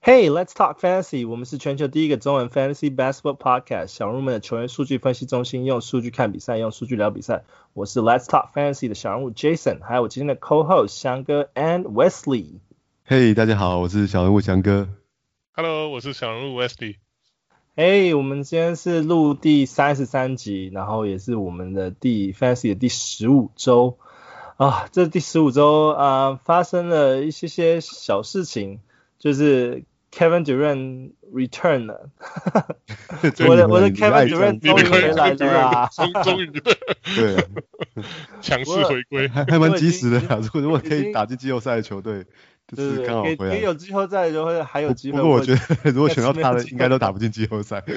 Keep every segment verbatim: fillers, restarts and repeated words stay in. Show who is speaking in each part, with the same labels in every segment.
Speaker 1: Hey, let's talk fantasy. 我們是全球第一個中文 fantasy basketball podcast， 小人物們的球員數據分析中心，用數據看比賽，用數據聊比賽。我是 Let's Talk Fantasy 的小人物 Jason， 還有我今天的 co-host 翔哥 and Wesley。
Speaker 2: Hey， 大家好，我是小人物翔哥。
Speaker 3: Hello， 我是小人物 Wesley。
Speaker 1: Hey， 我們今天是錄第三十三集，然後也是我們的第 fantasy 的第十五周啊。這第十五周啊，發生了一些些小事情，就是。Kevin Durant return 了，我的我的 Kevin Durant 終於回來了啦，
Speaker 3: 終於
Speaker 2: 對啊，
Speaker 3: 強勢回歸，
Speaker 2: 還還蠻及時的啊。如果如果可以打進季後賽的球隊，就是剛好回來。
Speaker 1: 也有季後賽就會還有機會。
Speaker 2: 不過我覺得如果選到他的，應該都打不進季後賽。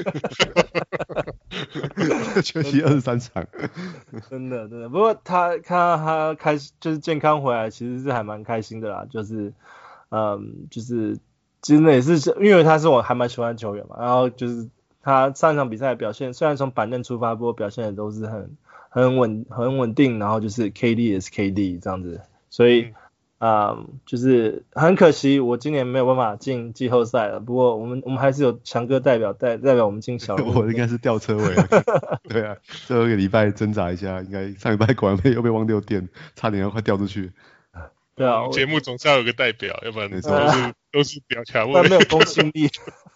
Speaker 2: 缺席二十三場，
Speaker 1: 真的真的。不過他看到他開始就是健康回來，其實是還蠻開心的啦。就是嗯，就是。其實也是因為他是我還蠻喜歡的球員嘛，然後就是他上一場比賽的表現，雖然從板凳出發，不過表現的都是很很穩很穩定，然後就是 K D 也是 K D 這樣子，所以啊、嗯嗯、就是很可惜我今年沒有辦法進季後賽了。不過我們我們還是有強哥代表代代表我們進小人物。
Speaker 2: 我應該是吊車尾，對啊，最後一個禮拜掙扎一下，應該上禮拜果然被又被汪六電，差點要快掉出去。
Speaker 1: 對啊，
Speaker 3: 節目總是要有個代表，要不然都是、呃、都是表卡位，
Speaker 1: 沒有公信力。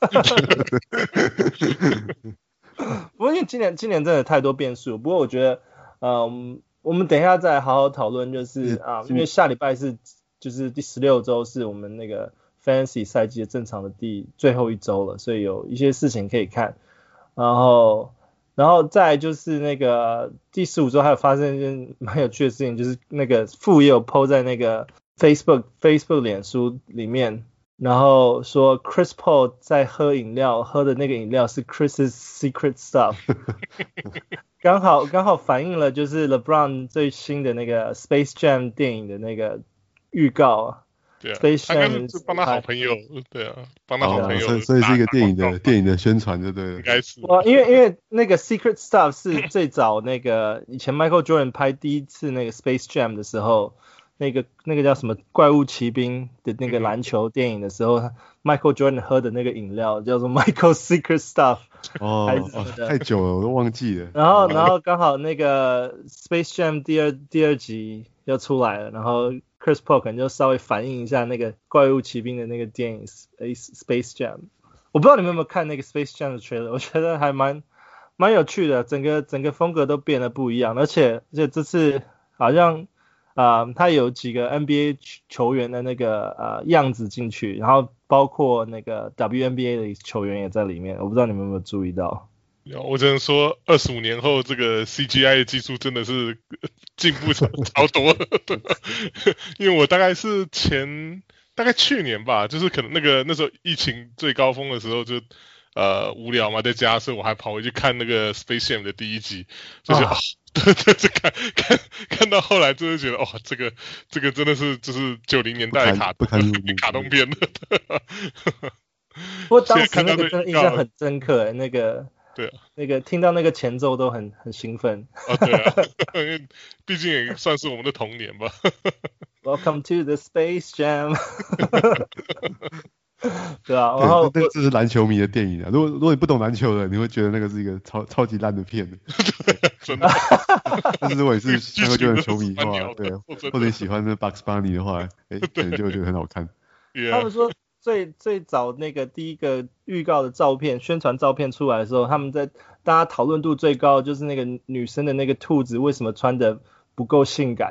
Speaker 1: 不過因為今年今年真的太多變數，不過我覺得，嗯，我們等一下再好好討論，就是啊，因為下禮拜是就是第十六周是我們那個 Fantasy 賽季的正常的第最後一周了，所以有一些事情可以看，然後。然後再就是那個第十五周還有發生一件蠻有趣的事情，就是那個副也有 po 在那個 Facebook Facebook 臉書裡面，然後說 Chris Paul 在喝飲料，喝的那個飲料是 Chris's Secret Stuff， 剛好剛好反映了就是 LeBron 最新的那個 Space Jam 電影的那個預告啊。
Speaker 3: 對啊，他應該是幫他好朋友，對啊，幫他好朋友、哦，
Speaker 2: 所以所以是一個電影的電影的宣傳，就對了。
Speaker 3: 應該是。
Speaker 1: 哇，因為因為那個 Secret Stuff 是最早那個以前 Michael Jordan 拍第一次那個 Space Jam 的時候，那個那個叫什麼怪物騎兵的那個籃球電影的時候、嗯、，Michael Jordan 喝的那個飲料叫做 Michael Secret Stuff。
Speaker 2: 哦，還是什麼的哦，太久了，我都忘記了。
Speaker 1: 然後然後剛好那個 Space Jam 第二第二集要出來了，然後。Chris Paul 可能就稍微反映一下那個怪物騎兵的那個電影 Space Jam， 我不知道你們有沒有看那個 Space Jam 的 trailer， 我覺得還蠻蠻有趣的，整個整個風格都變得不一樣，而且而且這次好像啊、呃，他有幾個 N B A 球員的那個呃樣子進去，然後包括那個 W N B A 的球員也在裡面，我不知道你們有沒有注意到。
Speaker 3: 我只能說，二十五年後，這個 C G I 的技術真的是進步超多了。因為我大概是前，大概去年吧，就是可能那個那時候疫情最高峰的時候就，就呃無聊嘛，在家，所以我還跑回去看那個 Space Jam 的第一集，就是啊，對對，這看看看到後來，真的覺得，哇、哦，這個這個真的是就是九零年代的卡卡通片了。
Speaker 1: 不過當時那個真的印象很深刻、欸，那個。
Speaker 3: 對啊，
Speaker 1: 那個聽到那個前奏都很很興奮
Speaker 3: 啊，對啊，因為畢竟也算是我們的童年吧。
Speaker 1: Welcome to the Space Jam 。對啊，然後
Speaker 2: 這這是籃球迷的電影啊。如果如果你不懂籃球的，你會覺得那個是一個超超級爛的片的。
Speaker 3: 真的。
Speaker 2: 但是如果你是那個球員球迷的話，對，或者你喜歡那 Bugs Bunny 的話，哎，可能就會覺得很好看。
Speaker 1: 他們說。最最早那個第一個預告的照片宣傳照片出來的時候，他們在大家討論度最高的就是那個女生的那個兔子為什麼穿得不夠性感。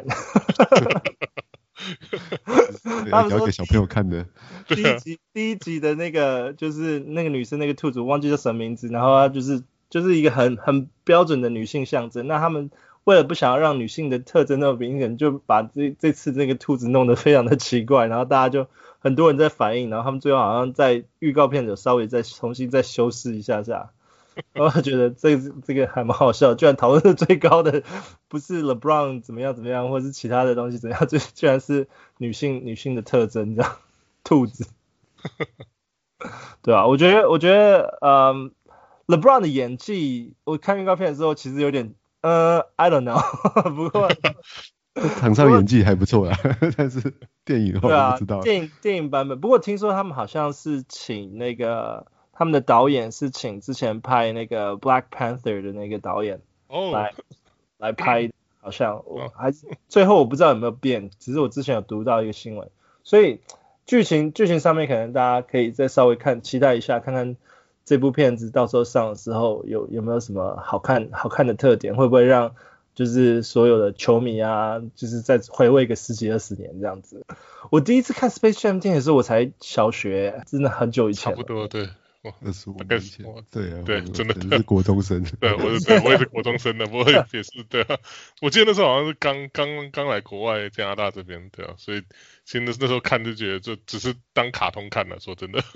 Speaker 2: 他們說給小朋友看的
Speaker 1: 第一集第一集的那個就是那個女生那個兔子我忘記叫什麼名字，然後她就是就是一個很很標準的女性象徵。那他們為了不想要讓女性的特徵那麼明顯，就把這這次那個兔子弄得非常的奇怪，然後大家就很多人在反映，然後他們最後好像在預告片有稍微再重新再修飾一下下，然後覺得這個這個還蠻好笑，居然討論的最高的不是 LeBron 怎麼樣怎麼樣，或是其他的東西怎麼樣，就居然是女性女性的特徵這樣，兔子，對啊，我覺得我覺得嗯 LeBron 的演技，我看預告片的時候其實有點呃 I don't know， 不過
Speaker 2: 場上演技還不錯啦，但是電影的話我不知道。
Speaker 1: 對啊，電影電影版本，不過聽說他們好像是請那個他們的導演是請之前拍那個 Black Panther 的那個導演來、oh. 來拍，好像我還最後我不知道有沒有變，只是我之前有讀到一個新聞，所以劇情劇情上面可能大家可以再稍微看期待一下，看看這部片子到時候上的時候有有沒有什麼好看好看的特點，會不會讓就是所有的球迷啊，就是再回味個十幾二十年這樣子。我第一次看 Space Jam 電影的時候，我才小學，真的很久以前。
Speaker 3: 差不多，對。
Speaker 2: 二十五年前，對啊，
Speaker 3: 對，真的
Speaker 2: 是國中生。
Speaker 3: 對，我是對，我也是國中生的，不過也是對啊。我記得那時候好像是剛剛剛來國外加拿大這邊，對啊，所以其實那那時候看就覺得就只是當卡通看了，說真的。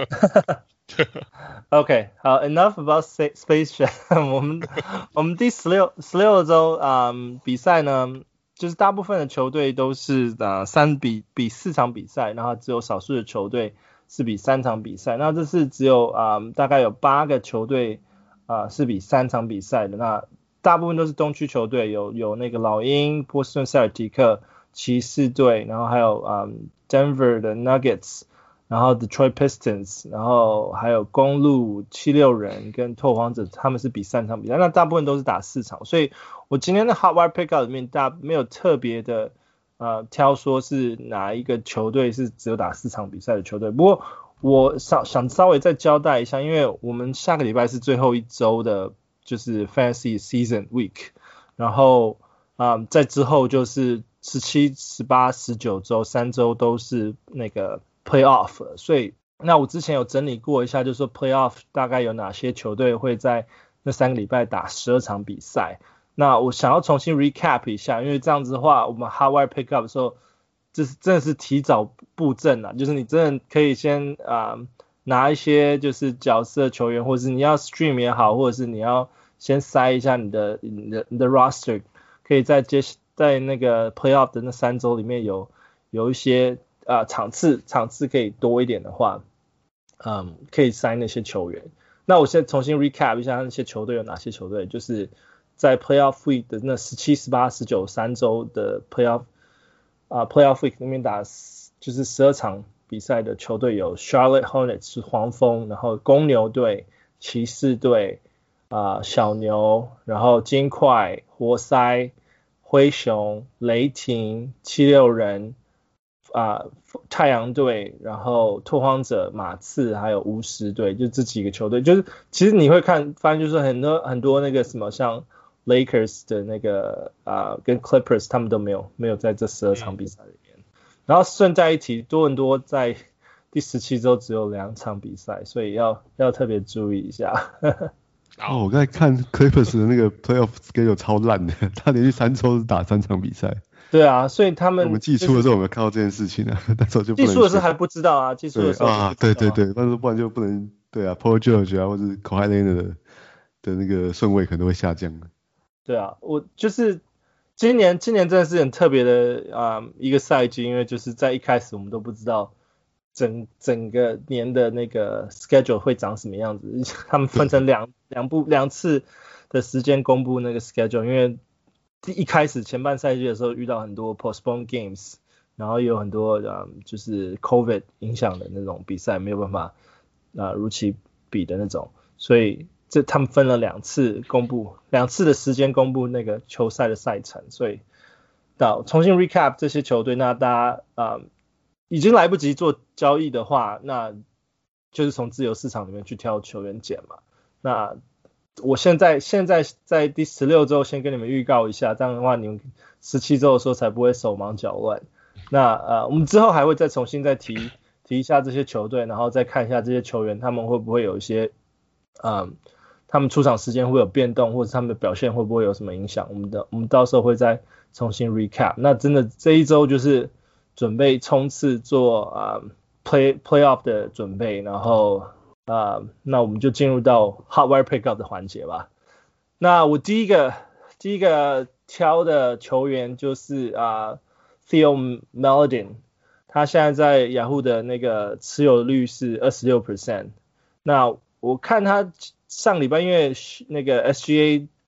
Speaker 1: OK， 好 ，Enough about Space Jam 我們我們第十六十六周啊、嗯、比賽呢，就是大部分的球隊都是啊三比比四場比賽，然後只有少數的球隊是比三場比賽。那這次只有啊、嗯、大概有八個球隊啊、呃、是比三場比賽的。那大部分都是東區球隊，有有那個老鷹、波士頓塞爾提克、騎士隊，然後還有啊、嗯、Denver 的 Nuggets。然後 Detroit Pistons， 然後還有公鹿、七六人跟拓荒者，他們是比三場比賽，那大部分都是打四場，所以我今天的 Hot Wire Pickup 裡面，大家沒有特別的呃挑說是哪一個球隊是只有打四場比賽的球隊。不過我想想稍微再交代一下，因為我們下個禮拜是最後一周的，就是 Fantasy Season Week， 然後啊、呃、在之後就是十七、十八、十九周，三周都是那個Playoff， 所以那我之前有整理過一下，就是說 Playoff 大概有哪些球隊會在那三個禮拜打十二場比賽。那我想要重新 recap 一下，因為這樣子的話，我們 Hot Wire Pickup 的時候，就是真的是提早布陣啊，就是你真的可以先啊、呃、拿一些就是角色球員，或者是你要 stream 也好，或者是你要先塞一下你的你的你的 roster， 可以在接在那個 Playoff 的那三周裡面有有一些。啊、呃，場次場次可以多一點的話，嗯，可以塞那些球員。那我現在重新 recap 一下那些球隊有哪些球隊，就是在 Playoff Week 的那十七、十八、十九三周的 Playoff 啊、呃、Playoff Week 裡面打就是十二場比賽的球隊有 Charlotte Hornets 是黃蜂，然後公牛隊、騎士隊啊、呃、小牛，然後金塊、活塞、灰熊、雷霆、七六人。啊、呃，太陽隊，然後拓荒者、馬刺，還有巫師隊，就這幾個球隊，就是其實你會看，發現就是很多很多那個什麼，像 Lakers 的那個啊、呃，跟 Clippers 他們都沒有沒有在這十二場比賽裡面。嗯、然後順帶一提，多倫多在第十七周只有兩場比賽，所以要要特別注意一下。
Speaker 2: 哦，我剛才看 Clippers 的那個 Playoff schedule 超爛的，他連續三周是打三場比賽。
Speaker 1: 對啊，所以他們、就是、
Speaker 2: 我們季初的時候有沒有看到這件事情啊？那時候就不能
Speaker 1: 季初的時候還不知道啊，季初的時候
Speaker 2: 啊，對對對，但是不然就不能對啊 ，Paul George 啊，或者 Kawhi Leonard 的的那個順位可能都會下降。
Speaker 1: 對啊，我就是今年今年真的是很特別的啊、呃、一個賽季，因為就是在一開始我們都不知道整整個年的那個 schedule 會長什麼樣子，他們分成兩兩部兩次的時間公布那個 schedule， 因為第一開始前半賽季的時候遇到很多 postpone games， 然後也有很多、嗯、就是 COVID 影響的那種比賽沒有辦法啊、呃、如期比的那種，所以這他們分了兩次公布兩次的時間公布那個球賽的賽程，所以到重新 recap 這些球隊，那大家啊、呃、已經來不及做交易的話，那就是從自由市場裡面去挑球員撿嘛，那我現在現在在第十六周先跟你們預告一下，這樣的話你們十七周的時候才不會手忙腳亂。那呃，我們之後還會再重新再提提一下這些球隊，然後再看一下這些球員他們會不會有一些，嗯，他們出場時間會有變動，或者他們的表現會不會有什麼影響？我們的我們到時候會再重新 recap。那真的這一周就是準備衝刺做啊、嗯、play playoff 的準備，然後。啊、uh, 那我們就進入到 Hot Wire Pickup 的環節吧。那我第一個第一個挑的球員就是啊、uh, Theo Maledon， 他現在在雅虎的那個持有率是 百分之二十六。那我看他上禮拜因為那個 S G A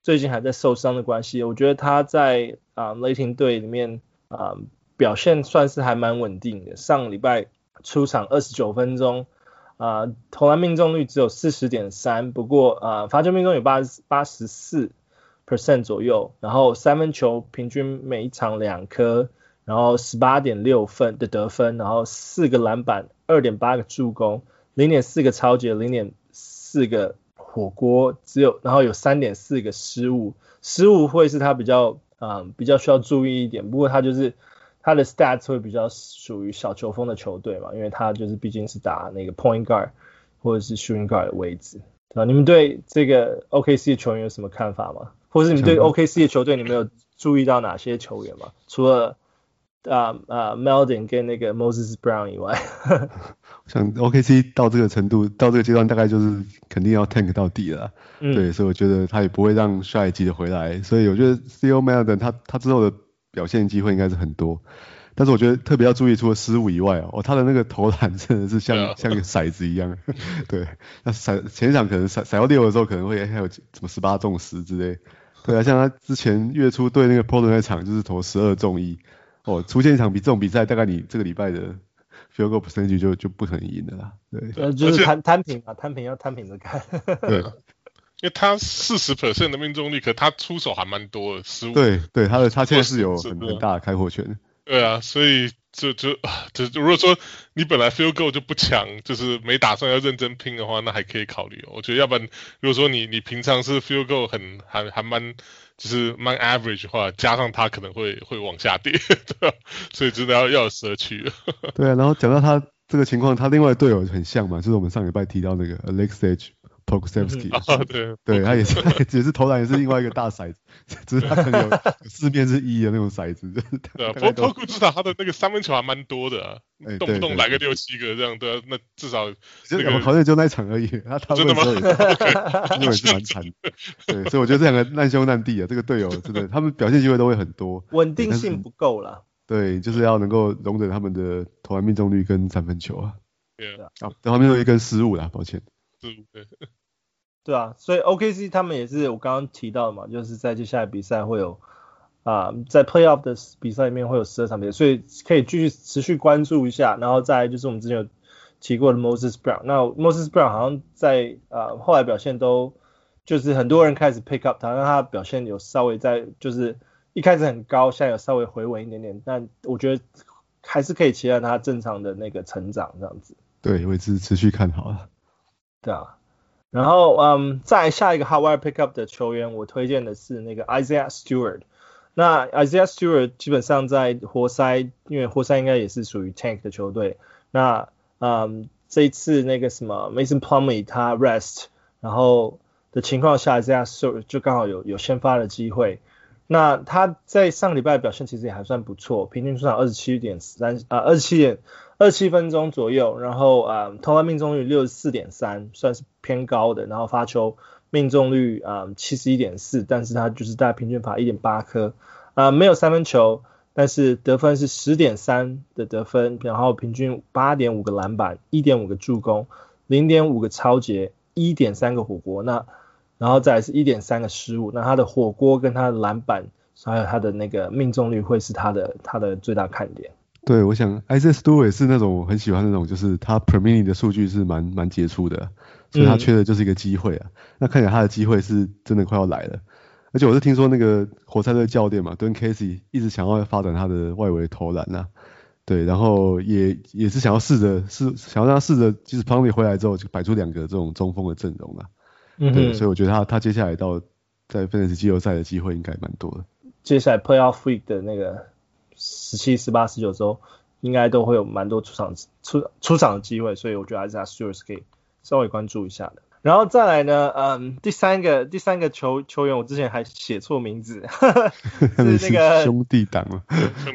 Speaker 1: 最近還在受傷的關係，我覺得他在啊、呃、雷霆隊裡面啊、呃、表現算是還蠻穩定的。上禮拜出場二十九分鐘，啊、呃、投籃命中率只有 百分之四十點三， 不過啊罰球命中有八十四 percent 左右，然後三分球平均每一場兩顆，然後 十八點六 分的得分，然後四個籃板， 二點八個助攻， 零點四個抄截， 零點四個火鍋，只有然後有 三點四個失誤，失誤會是他比較啊、嗯、比較需要注意一點，不過他就是他的 stats 會比較屬於小球風的球隊嘛，因為他就是畢竟是打那個 point guard 或者是 shooting guard 的位置，對吧？你們對這個 O K C 的球員有什麼看法嗎？或者是你對 O K C 的球隊你們有注意到哪些球員嗎？除了啊啊 Melton 跟那個 Moses Brown 以外，
Speaker 2: 像 O K C 到這個程度，到這個階段，大概就是肯定要 tank 到底了啦、嗯。對，所以我覺得他也不會讓下一季的回來。所以我覺得 C O Melton 他他之後的表現機會應該是很多。但是我覺得特別要注意，除了失誤以外哦，他的那個投籃真的是像、yeah. 像一個骰子一樣。對，那骰前一場可能骰骰到六的時候，可能會還有什麼十八中十之類。對啊，像他之前月初對那個 Portland 那場就是投十二中一。哦，出現一場比這種比賽，大概你這個禮拜的 field goal percentage 就就不可能贏的啦。對，
Speaker 1: 呃，就是攤攤平啊，攤平要攤平着看。
Speaker 2: 對，
Speaker 3: 因為他 百分之四十 的命中率，可他出手還蠻多的，失誤。
Speaker 2: 對對，他的他現在是有很很大的開火權。
Speaker 3: 對啊，所以就就就如果說你本來 field goal 就不強，就是沒打算要認真拼的話，那還可以考慮。我覺得要不然，如果說你你平常是 field goal 很還還蠻。就是蠻 average 的話，加上他可能會會往下跌，對吧？所以真的要要有社區。
Speaker 2: 對啊，然後講到他這個情況，他另外的隊友很像嘛，就是我們上禮拜提到那個 Aleksej Pokusevski、嗯、啊，對，對他也是也是投籃也是另外一個大骰子，只是他可能有四面是一的那種骰子。
Speaker 3: 對啊，不過 Poku 至少他的那個三分球還蠻多的啊，欸、動不動來個六七個這樣，對啊，那至少、那個、我好
Speaker 2: 像就那一場而已，他他真的嗎？因為也是蠻慘的，對，所以我覺得這兩個難兄難弟啊，這個隊友真的他們表現機會都會很多，
Speaker 1: 穩定性不夠啦。
Speaker 2: 對，就是要能夠容忍他們的投籃命中率跟三分球啊，
Speaker 3: 對啊，
Speaker 2: 啊，投籃命中率跟失誤啦，抱歉。
Speaker 3: 失誤對。
Speaker 1: 對啊，所以 O K C 他們也是我剛剛提到的嘛，就是在接下來比賽會有啊、呃，在 Playoff 的比賽裡面會有十二場比賽，所以可以繼續持續關注一下。然後再來就是我們之前有提過的 Moses Brown， 那 Moses Brown 好像在啊、呃、後來表現都就是很多人開始 pick up 他，讓他表現有稍微在就是一開始很高，現在有稍微回穩一點點，但我覺得還是可以期待他正常的那個成長這樣子。
Speaker 2: 對，我也是持續看好了。
Speaker 1: 對啊。然後，嗯，再下一個 Hot Wire Pickup 的球員，我推薦的是那個 Isaiah Stewart。那 Isaiah Stewart 基本上在活塞，因為活塞應該也是屬於 Tank 的球隊。那，嗯，這一次那個什麼 Mason Plumlee 他 rest， 然後的情況下 ，Isaiah Stewart 就剛好有有先發的機會。那他在上禮拜的表現其實也還算不錯，平均出場二十七點三啊，二十七點二十七分鐘左右，然後啊、嗯、投籃命中率 六十四點三， 算是偏高的，然後發球命中率啊 七十一點四， 但是他就是大概平均罰 一點八顆啊，沒有三分球，但是得分是 十點三 的得分，然後平均 八點五 個籃板， 一點五 個助攻， 零點五 個抄截， 一點三 個火鍋，那然後再來是 一點三 個失誤，那他的火鍋跟他的籃板還有他的那個命中率會是他的他的最大看點。
Speaker 2: 對，我想 Isaiah Stewart 是那種我很喜歡那種，就是他 per minute 的數據是蠻蠻傑出的，所以他缺的就是一個機會啊、嗯。那看起來他的機會是真的快要來了，而且我是聽說那個活塞隊教練嘛 Dwayne Casey 一直想要發展他的外圍投籃啊，對，然後也也是想要試着試想要讓他試着，即使 Plumlee 回來之後就擺出兩個這種中鋒的陣容啊。嗯，對，所以我覺得他他接下來到在 Fantasy 季後賽的機會應該蠻多的。
Speaker 1: 接下來 Playoff Week 的那個十七、十八、十九周，應該都會有蠻多出場出出場的機會，所以我覺得 Isaiah Stewart 可以稍微關注一下的。然後再來呢，嗯，第三個第三個球球員，我之前還寫錯名字，呵呵是那個
Speaker 2: 兄弟黨嘛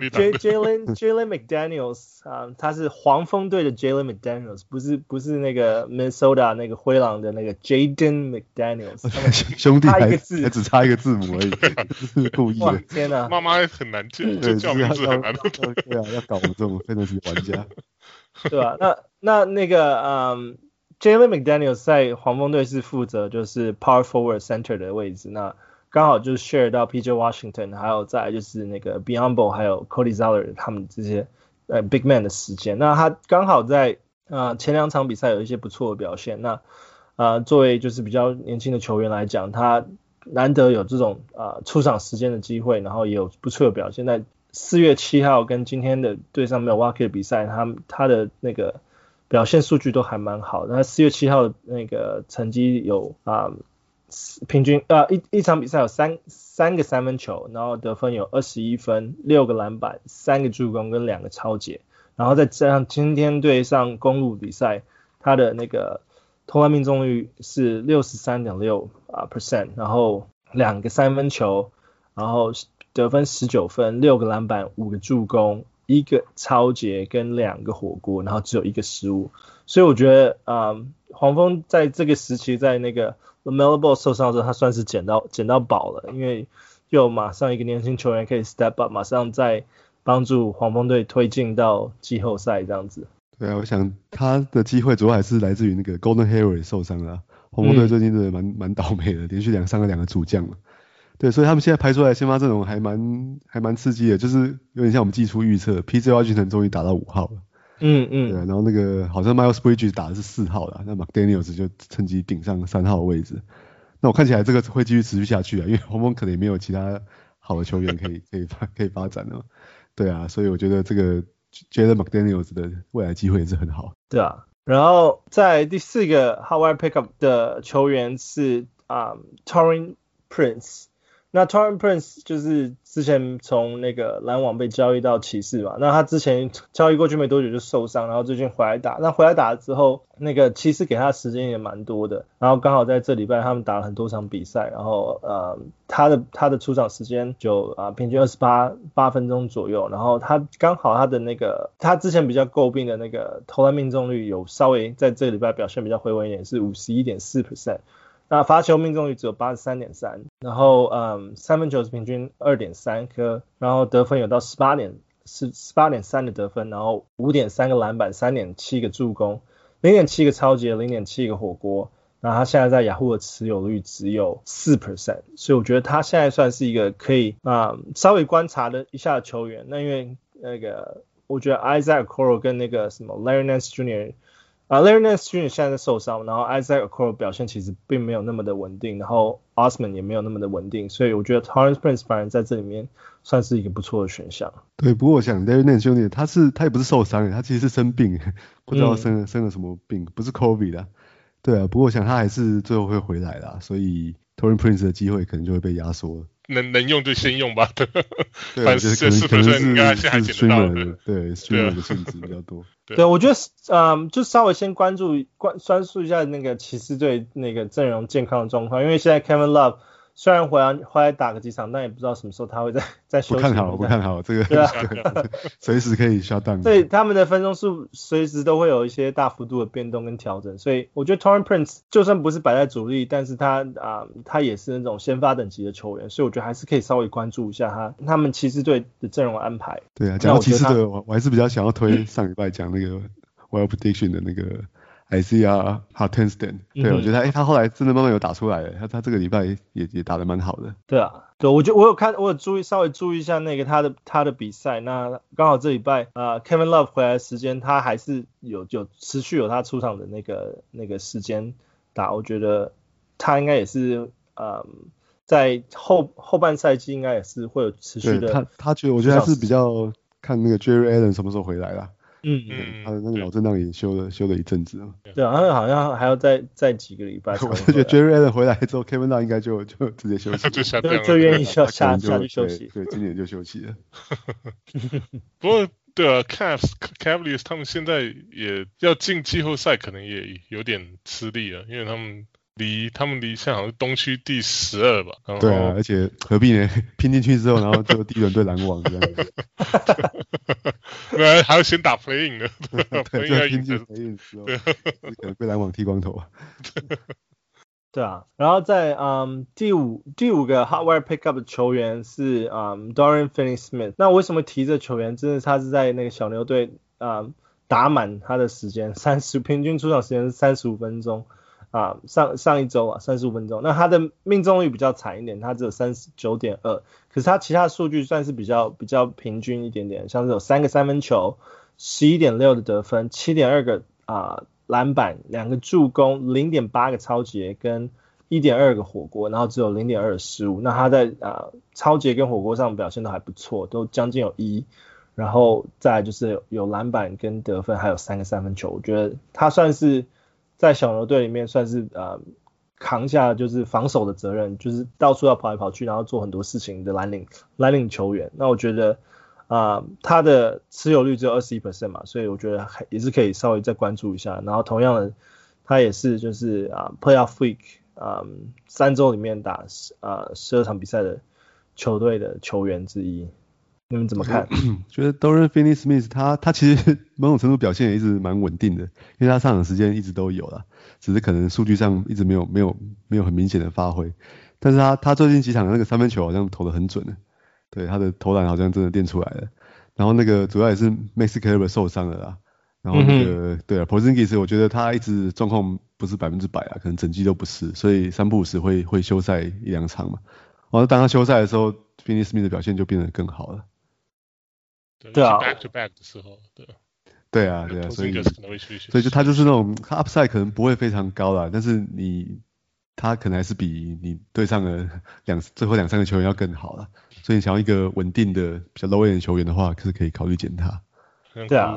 Speaker 1: ，Jalen Jalen McDaniels 啊、嗯，他是黃蜂隊的 Jalen McDaniels， 不是不是那個 Minnesota 那個灰狼的那個 Jaden McDaniels，
Speaker 2: 兄弟還
Speaker 1: 差一個字，
Speaker 2: 還只差一個字母而已，是故意的。
Speaker 1: 天哪，
Speaker 3: 媽媽很難叫，就叫名字很難。
Speaker 2: 對啊，要搞我們這種 fantasy 玩家，
Speaker 1: 對吧、啊？那那那個嗯。Jalen McDaniels 在黃蜂隊是負責就是 power forward center 的位置，那剛好就是 share 到 P J Washington， 還有再來就是那個 Biyombo 還有 Cody Zeller 他們這些呃 big man 的時間，那他剛好在呃前兩場比賽有一些不錯的表現，那呃作為就是比較年輕的球員來講，他難得有這種呃出場時間的機會，然後也有不錯的表現。在四月七號跟今天的對上 Milwaukee 的比賽，他他的那個表現數據都還蠻好的。那四月七號的那個成績有啊。呃平均呃一一場比賽有三三個三分球，然後得分有二十一分，六個籃板，三個助攻跟兩個抄截，然後再加上今天對上公鹿比賽，他的那個投籃命中率是 六十三點六 percent， 然後兩個三分球，然後得分十九分，六個籃板，五個助攻，一個抄截跟兩個火鍋，然後只有一個失誤，所以我覺得啊、呃、黃蜂在這個時期在那個LaMelo Ball 受傷的時候，他算是撿到撿到寶了，因為又馬上一個年輕球員可以 step up， 馬上再幫助黃蜂隊推進到季後賽這樣子。
Speaker 2: 對啊，我想他的機會主要還是來自於那個 Gordon Hayward 受傷了，黃蜂隊最近真的蠻蠻、嗯、倒霉的，連續兩傷了兩個主將嘛。對，所以他們現在排出來的先發陣容還蠻還蠻刺激的，就是有點像我們季初預測 P J Washington 終於打到五號了。
Speaker 1: 嗯嗯，
Speaker 2: 對，然後那個好像 Miles Bridges 打的是四號啦，那 McDaniels 就趁機頂上三號的位置。那我看起來這個會繼續持續下去啊，因為黃蜂可能也沒有其他好的球員可以可以發可以發展了。對啊，所以我覺得這個 Jaden McDaniels 的未來機會也是很好。
Speaker 1: 對啊，然後在第四個 Hotwire Pickup 的球員是啊、um, Taurean Prince。那 Taurean Prince 就是之前從那個籃網被交易到騎士嘛，那他之前交易過去沒多久就受傷，然後最近回來打，那回來打了之後，那個騎士給他的時間也蠻多的，然後剛好在這禮拜他們打了很多場比賽，然後呃他的他的出場時間就啊、呃、平均二十八八分鐘左右，然後他剛好他的那個他之前比較詬病的那個投籃命中率有稍微在這個禮拜表現比較回穩一點，是 五十一點四 percent。那罰球命中率只有 八十三點三， 然後嗯三分球是平均 二點三 顆，然後得分有到十八點十八點三的得分，然後 五點三 個籃板， 三點七個助攻， 零點七個抄截， 零點七個火鍋，然後他現在在雅虎的持有率只有 百分之四， 所以我覺得他現在算是一個可以啊、嗯、稍微觀察的一下的球員。那因為那個我覺得 Isaac Okoro 跟那個什麼 Larry Nance Junior啊、uh, Larry Nance Junior 現在在受傷，然後 Isaac Okoro 表現其實並沒有那麼的穩定，然後 Osman 也沒有那麼的穩定，所以我覺得 Taurean Prince 反而在這裡面算是一個不錯的選項。
Speaker 2: 對，不過我想 Larry Nance Junior 他是他也不是受傷，他其實是生病，不知道生了、嗯、生了什麼病，不是 COVID 的。對啊，不過我想他還是最後會回來啦，所以 Taurean Prince 的機會可能就會被壓縮了。
Speaker 3: 能能用就先用吧，對，
Speaker 2: 反正是是可能是應該現在撿得到的，對 streamer 的性質比較多。
Speaker 1: 對，對我覺得嗯，就稍微先關注關關注一下那個騎士隊那個陣容健康的狀況，因為現在 Kevin Love 雖然回來回來打個幾場，但也不知道什麼時候他會再再休息。
Speaker 2: 不看好，不看好這個，對啊，隨時可以 shut down。
Speaker 1: 所以他們的分鐘數隨時都會有一些大幅度的變動跟調整，所以我覺得 Taurean Prince 就算不是擺在主力，但是他啊、呃，他也是那種先發等級的球員，所以我覺得還是可以稍微關注一下他他們騎士隊的陣容安排。
Speaker 2: 對啊，講到騎士隊，我我還是比較想要推上禮拜講那個 Wild Prediction 的那個。Isaiah Hartenstein， 對、嗯、我覺得他、欸、他後來真的慢慢有打出來了，他他這個禮拜也也打得蠻好的。
Speaker 1: 對啊，對，我就我有看，我有注意稍微注意一下那個他的他的比賽，那剛好這禮拜啊、呃、Kevin Love 回來的時間，他還是有有持續有他出場的那個那個時間打，我覺得他應該也是呃在後後半賽季應該也是會有持續的。
Speaker 2: 他他覺得我覺得還是比較看那個 Jerry Allen 什麼時候回來啦。
Speaker 1: 嗯
Speaker 2: 嗯，他的那個腦震盪也修了修了一陣子了。
Speaker 1: 對啊，他們好像還要再再幾個禮拜。
Speaker 2: 我就覺得 Jerry Allen 回來之後 ，Kevin Love 應該就就直接休息，
Speaker 3: 就下
Speaker 1: 就就願意下下下去休息。
Speaker 2: 對，對，今年就休息了。
Speaker 3: 不過對啊 ，Cavs Cavaliers 他們現在也要進季後賽，可能也有點吃力了，因為他們。離他們離現在好像是東區第十二吧。
Speaker 2: 對啊，而且何必呢？拼進去之後，然後就第一輪對籃網這樣子。
Speaker 3: 對，還要先打 play-in 呢。
Speaker 2: 對，就拼進 play-in 之後，可能被籃網剃光頭啊。
Speaker 1: 對啊，然後在嗯第五第五個 Hotwire Pickup 的球員是嗯 Dorian Finney-Smith。那為什麼提這球員？真的他是在那個小牛隊嗯打滿他的時間，三十平均出場時間是三十五分鐘。 啊，上上一周啊三十五分鐘，那他的命中率比較慘一點，他只有 三十九點二， 可是他其他數據算是比較比較平均一點點，像是有三個三分球 十一點六 的得分 七點二 個啊籃板，兩個助攻 零點八 個抄截跟 一點二 個火鍋，然後只有 零點二 的失誤，那他在啊抄截跟火鍋上表現都還不錯，都將近有一，然後再來就是有有籃板跟得分，還有三個三分球，我覺得他算是在小牛隊裡面算是呃扛下就是防守的責任，就是到處要跑來跑去，然後做很多事情的藍領藍領球員。那我覺得啊、呃、他的持有率只有 百分之二十一 嘛，所以我覺得還也是可以稍微再關注一下。然後同樣的，他也是就是啊、呃、Playoff Week 啊、呃、三周裡面打啊十二場比賽的球隊的球員之一。你們怎麼看？
Speaker 2: 覺得 Dorian Finney-Smith 他他其實某種程度表現也一直蠻穩定的，因為他上場時間一直都有啦，只是可能數據上一直沒有沒有沒有很明顯的發揮。但是他他最近幾場的那個三分球好像投得很準的，對，他的投籃好像真的練出來了。然後那個主要也是 Maxi Kleber 受傷了啦，然後那個、嗯、對啊 Porzingis 我覺得他一直狀況不是百分之百啊，可能整季都不是，所以三不五時會會休賽一兩場嘛。然後當他休賽的時候 Finney-Smith 的表現就变得更好了。
Speaker 3: 對啊 ，back to back 的時候，对，
Speaker 2: 對啊，對啊，所以所以就他就是那種他 upside 可能不會非常高啦，但是你他可能還是比你對上了兩最後兩三個球員要更好啦，所以你想要一個穩定的比較 low end 的球員的話，是可以考慮撿他。
Speaker 1: 對啊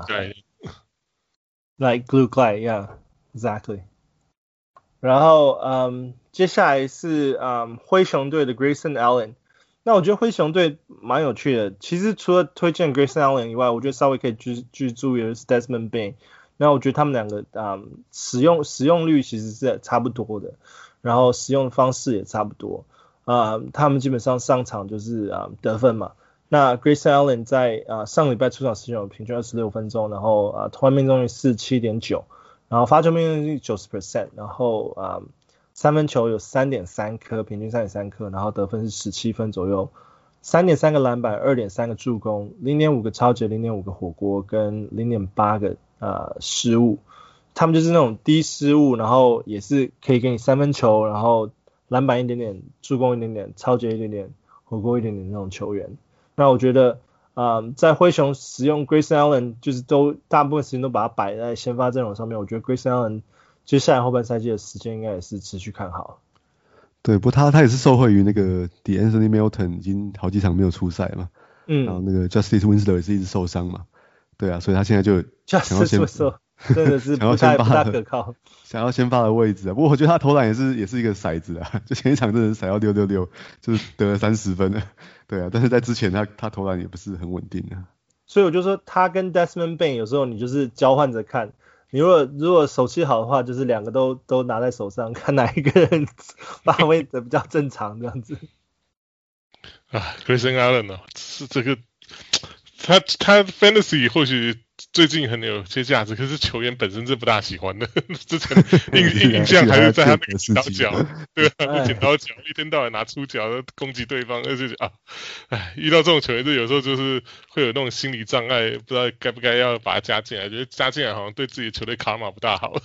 Speaker 1: ，like glue guy, yeah, exactly。然後嗯，接下來是嗯灰熊隊的 Grayson Allen。那我覺得灰熊隊蠻有趣的，其實除了推薦 Grayson Allen 以外，我覺得稍微可以去去注意的是 Desmond Bane。那我覺得他們兩個啊、嗯、使用使用率其實是差不多的，然後使用方式也差不多啊、嗯，他們基本上上場就是啊、嗯、得分嘛。那 Grayson Allen 在啊上禮拜出場時間有平均二十六分鐘，然後啊投籃命中率 四十七點九， 然後罰球命中率 百分之九十， 然後啊。三分球有 三點三 顆，平均 三點三 顆，然後得分是十七分左右， 三點三 個籃板， 二點三 個助攻， 零點五 個抄截， 零點五 個火鍋跟 零點八 個呃失誤。他们就是那種低失誤，然後也是可以給你三分球，然後籃板一點點，助攻一點點，抄截一點點，火鍋一點點那種球員。那我覺得啊、呃，在灰熊使用 Grayson Allen 就是都大部分時間都把它擺在先發陣容上面，我覺得 Grayson Allen接下來後半賽季的時間應該也是持續看好。
Speaker 2: 對，不過他他也是受惠於那個 De'Anthony Melton 已經好幾場沒有出賽嘛，嗯，然後那個 Justice Winslow 也是一直受傷嘛，對啊，所以他現在就想要先
Speaker 1: Justice Winslow 真的是不太不太可靠，
Speaker 2: 想要先發的位置啊。不過我覺得他投籃也是也是一個骰子啊，就前一場真的是骰到六六六，就是得了三十分了，對啊，但是在之前他他投籃也不是很穩定啊。
Speaker 1: 所以我就說他跟 Desmond Bane 有時候你就是交換着看。你如果如果手氣好的話，就是兩個都都拿在手上，看哪一個人發揮的比較正常這樣子。
Speaker 3: 啊 ，Grayson Allen 呢，是這個他他 Fantasy 或許最近很有些價值，可是球員本身是不大喜歡的。之前印印象還是在他那個剪刀腳，對啊，剪刀腳一天到晚拿出腳攻擊對方，而且啊，哎，遇到這種球員，就有時候就是會有那種心理障礙，不知道該不該要把他加進來，覺得加進來好像對自己球隊卡碼不大好，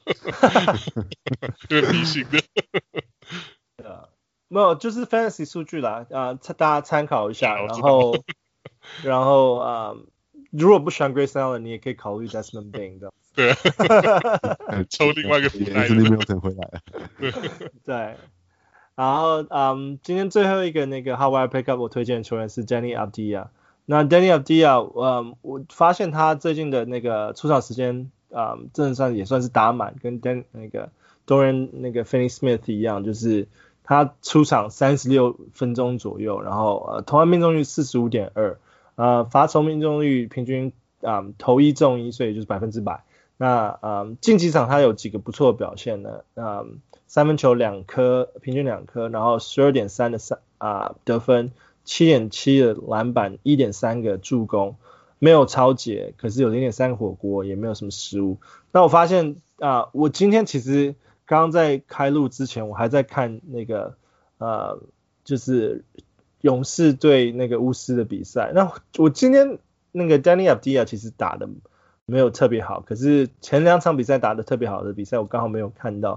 Speaker 3: 有點迷信的。
Speaker 1: 對啊，沒有，就是 Fantasy 數據啦，啊、呃，大家參考一下，然後，然後啊。呃如果不喜歡 Grayson Allen， 你也可以考慮 Desmond Bane 這樣子。
Speaker 3: 對、啊，抽另外一個福袋。
Speaker 2: 是沒有等回來了。
Speaker 1: 對，然後嗯，今天最後一個那個 Hotwire Pickup 我推薦的球員是 Deni Avdija。那 Deni Avdija，嗯，我發現他最近的那個出場時間，嗯，真的算也算是打滿，跟 Den 那個 Dorian 那個 Finney-Smith 一樣，就是他出場三十六分鐘左右，然後呃，投籃命中率 四十五點二。呃，罰球命中率平均啊、嗯、投一中一，所以就是百分之百。那嗯，近幾場他有幾個不錯的表現呢？嗯，三分球兩顆，平均兩顆，然後十二點三的三啊得分，七點七的籃板，一點三個助攻，沒有抄截，可是有零點三個火鍋，也沒有什麼失誤。那我發現啊，我今天其實剛剛在開錄之前，我還在看那個呃，就是。勇士對那個巫師的比賽，那我今天那個 Deni Avdija 其實打的沒有特別好，可是前兩場比賽打的特別好的比賽我剛好沒有看到。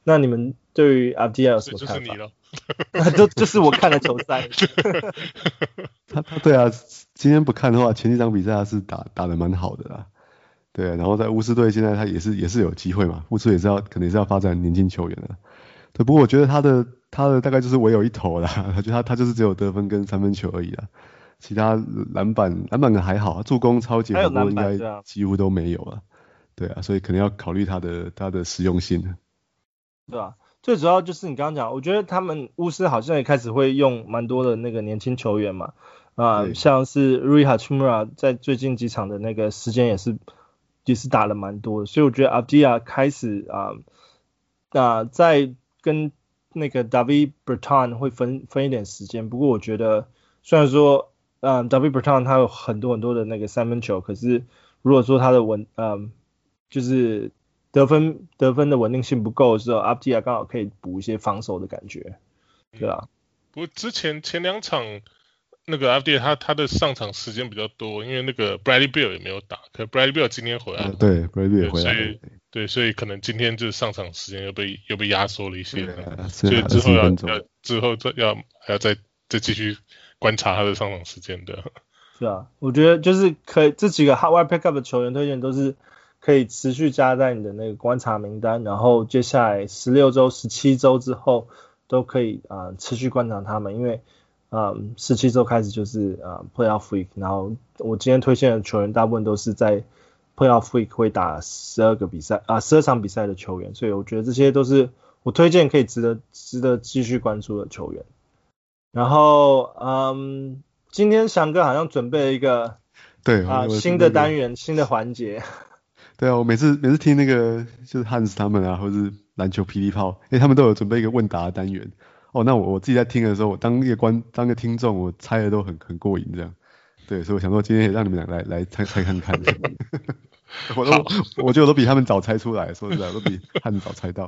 Speaker 1: 那你們對於 Avdija 有什麼看法？
Speaker 3: 就是你了，
Speaker 1: 就就是我看了球賽。
Speaker 2: 他他對啊，今天不看的話，前幾場比賽他是打打得蠻好的啦。對、啊，然後在巫師隊現在他也是也是有機會嘛，巫師也是要可能也是要發展年輕球員的。對，不過我覺得他的他的大概就是唯有一頭啦，他覺得他他就是只有得分跟三分球而已啦，其他籃板籃板還好，助攻超級好多應該幾乎都沒有了。對啊，所以可能要考慮他的他的實用性。
Speaker 1: 對啊，最主要就是你剛剛講，我覺得他們巫師好像也開始會用蠻多的那個年輕球員嘛，啊、呃，像是 Rui Hachimura 在最近幾場的那個時間也是。也是打了蠻多的，所以我覺得 Avdija 開始啊，那、呃呃、在跟那個 David Bertans 會分分一點時間。不過我覺得雖然說，嗯、呃、，David Bertans 他有很多很多的那個三分球，可是如果說他的穩，嗯、呃，就是得分得分的穩定性不夠的時候 ，Avdija 剛好可以補一些防守的感覺，對啊。
Speaker 3: 不過之前前兩場。那個 Avdija 他他的上場時間比較多，因為那個 Bradley Beal 也沒有打，可 Bradley Beal 今天回來了、
Speaker 2: 啊，對 Bradley Beal 也回來了，
Speaker 3: 所以對，所以可能今天就是上場時間又被又被壓縮了一些，
Speaker 2: 啊、
Speaker 3: 所以之後要要之後再要還要再再繼續觀察他的上場時間的。
Speaker 1: 是啊，我覺得就是可以這幾個 hard pick up 的球員推薦都是可以持續加在你的那個觀察名單，然後接下來十六周、十七周之後都可以啊、呃、持續觀察他們，因為。嗯，十七周開始就是呃 Playoff Week， 然後我今天推薦的球員大部分都是在 Playoff Week 會打十二個比賽啊，十二場比賽的球員，所以我覺得這些都是我推薦可以值得值得繼續關注的球員。然後嗯，今天翔哥好像準備了一個
Speaker 2: 對
Speaker 1: 啊、呃、新的單元、新的環節。
Speaker 2: 對啊，我每次每次聽那個就是 Hans 他們啊，或是籃球霹靂炮，哎，他們都有準備一個問答的單元。哦，那我我自己在聽的時候，我當一個觀當一個聽眾，我猜的都很很過癮這樣。對，所以我想說今天也讓你們倆來來猜猜看看。我都我覺得我都比他們早猜出來，說實在，我都比他們早猜到。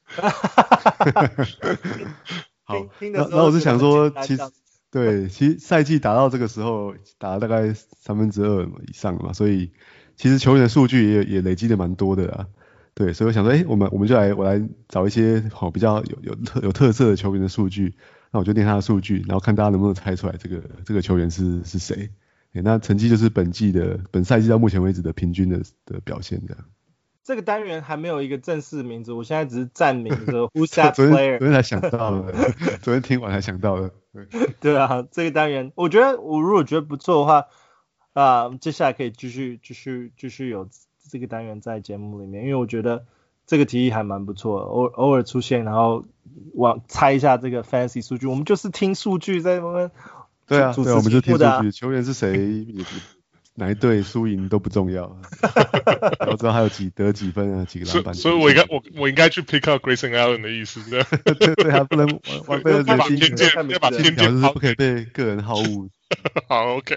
Speaker 2: 好，那那我是想說，其實對，其實賽季打到這個時候，打了大概三分之二以上嘛，所以其實球員的數據也也累積的蠻多的啦。對，所以我想說，哎，我們我們就來，我來找一些好比較有有特有特色的球員的數據，那我就念他的數據，然後看大家能不能猜出來這個這個球員是是誰。那成績就是本季的本賽季到目前為止的平均的的表現這樣。
Speaker 1: 這個單元還沒有一個正式名字，我現在只是站名說 Who's that player？ 昨
Speaker 2: 天昨天才想到的，昨天聽完才想到的。
Speaker 1: 對，對啊，這個單元我覺得我如果覺得不錯的話，啊、呃，接下來可以繼續繼續繼續有。這個單元在節目裡面，因為我覺得這個提議還蠻不錯的，偶偶爾出現，然後往猜一下這個 fantasy 數據，我們就是聽數據在那邊。
Speaker 2: 對啊，對啊，我們就聽數據，球員是誰，哪一隊輸贏都不重要，然後知道還有幾得幾分啊，幾個籃板。
Speaker 3: 所以，我應該我我應該去 pick up Grayson Allen 的意思，對
Speaker 2: 對對，還不能違背了人心，
Speaker 3: 偏見，要把偏見
Speaker 2: 是不可以被個人好惡。
Speaker 3: 好 ，OK。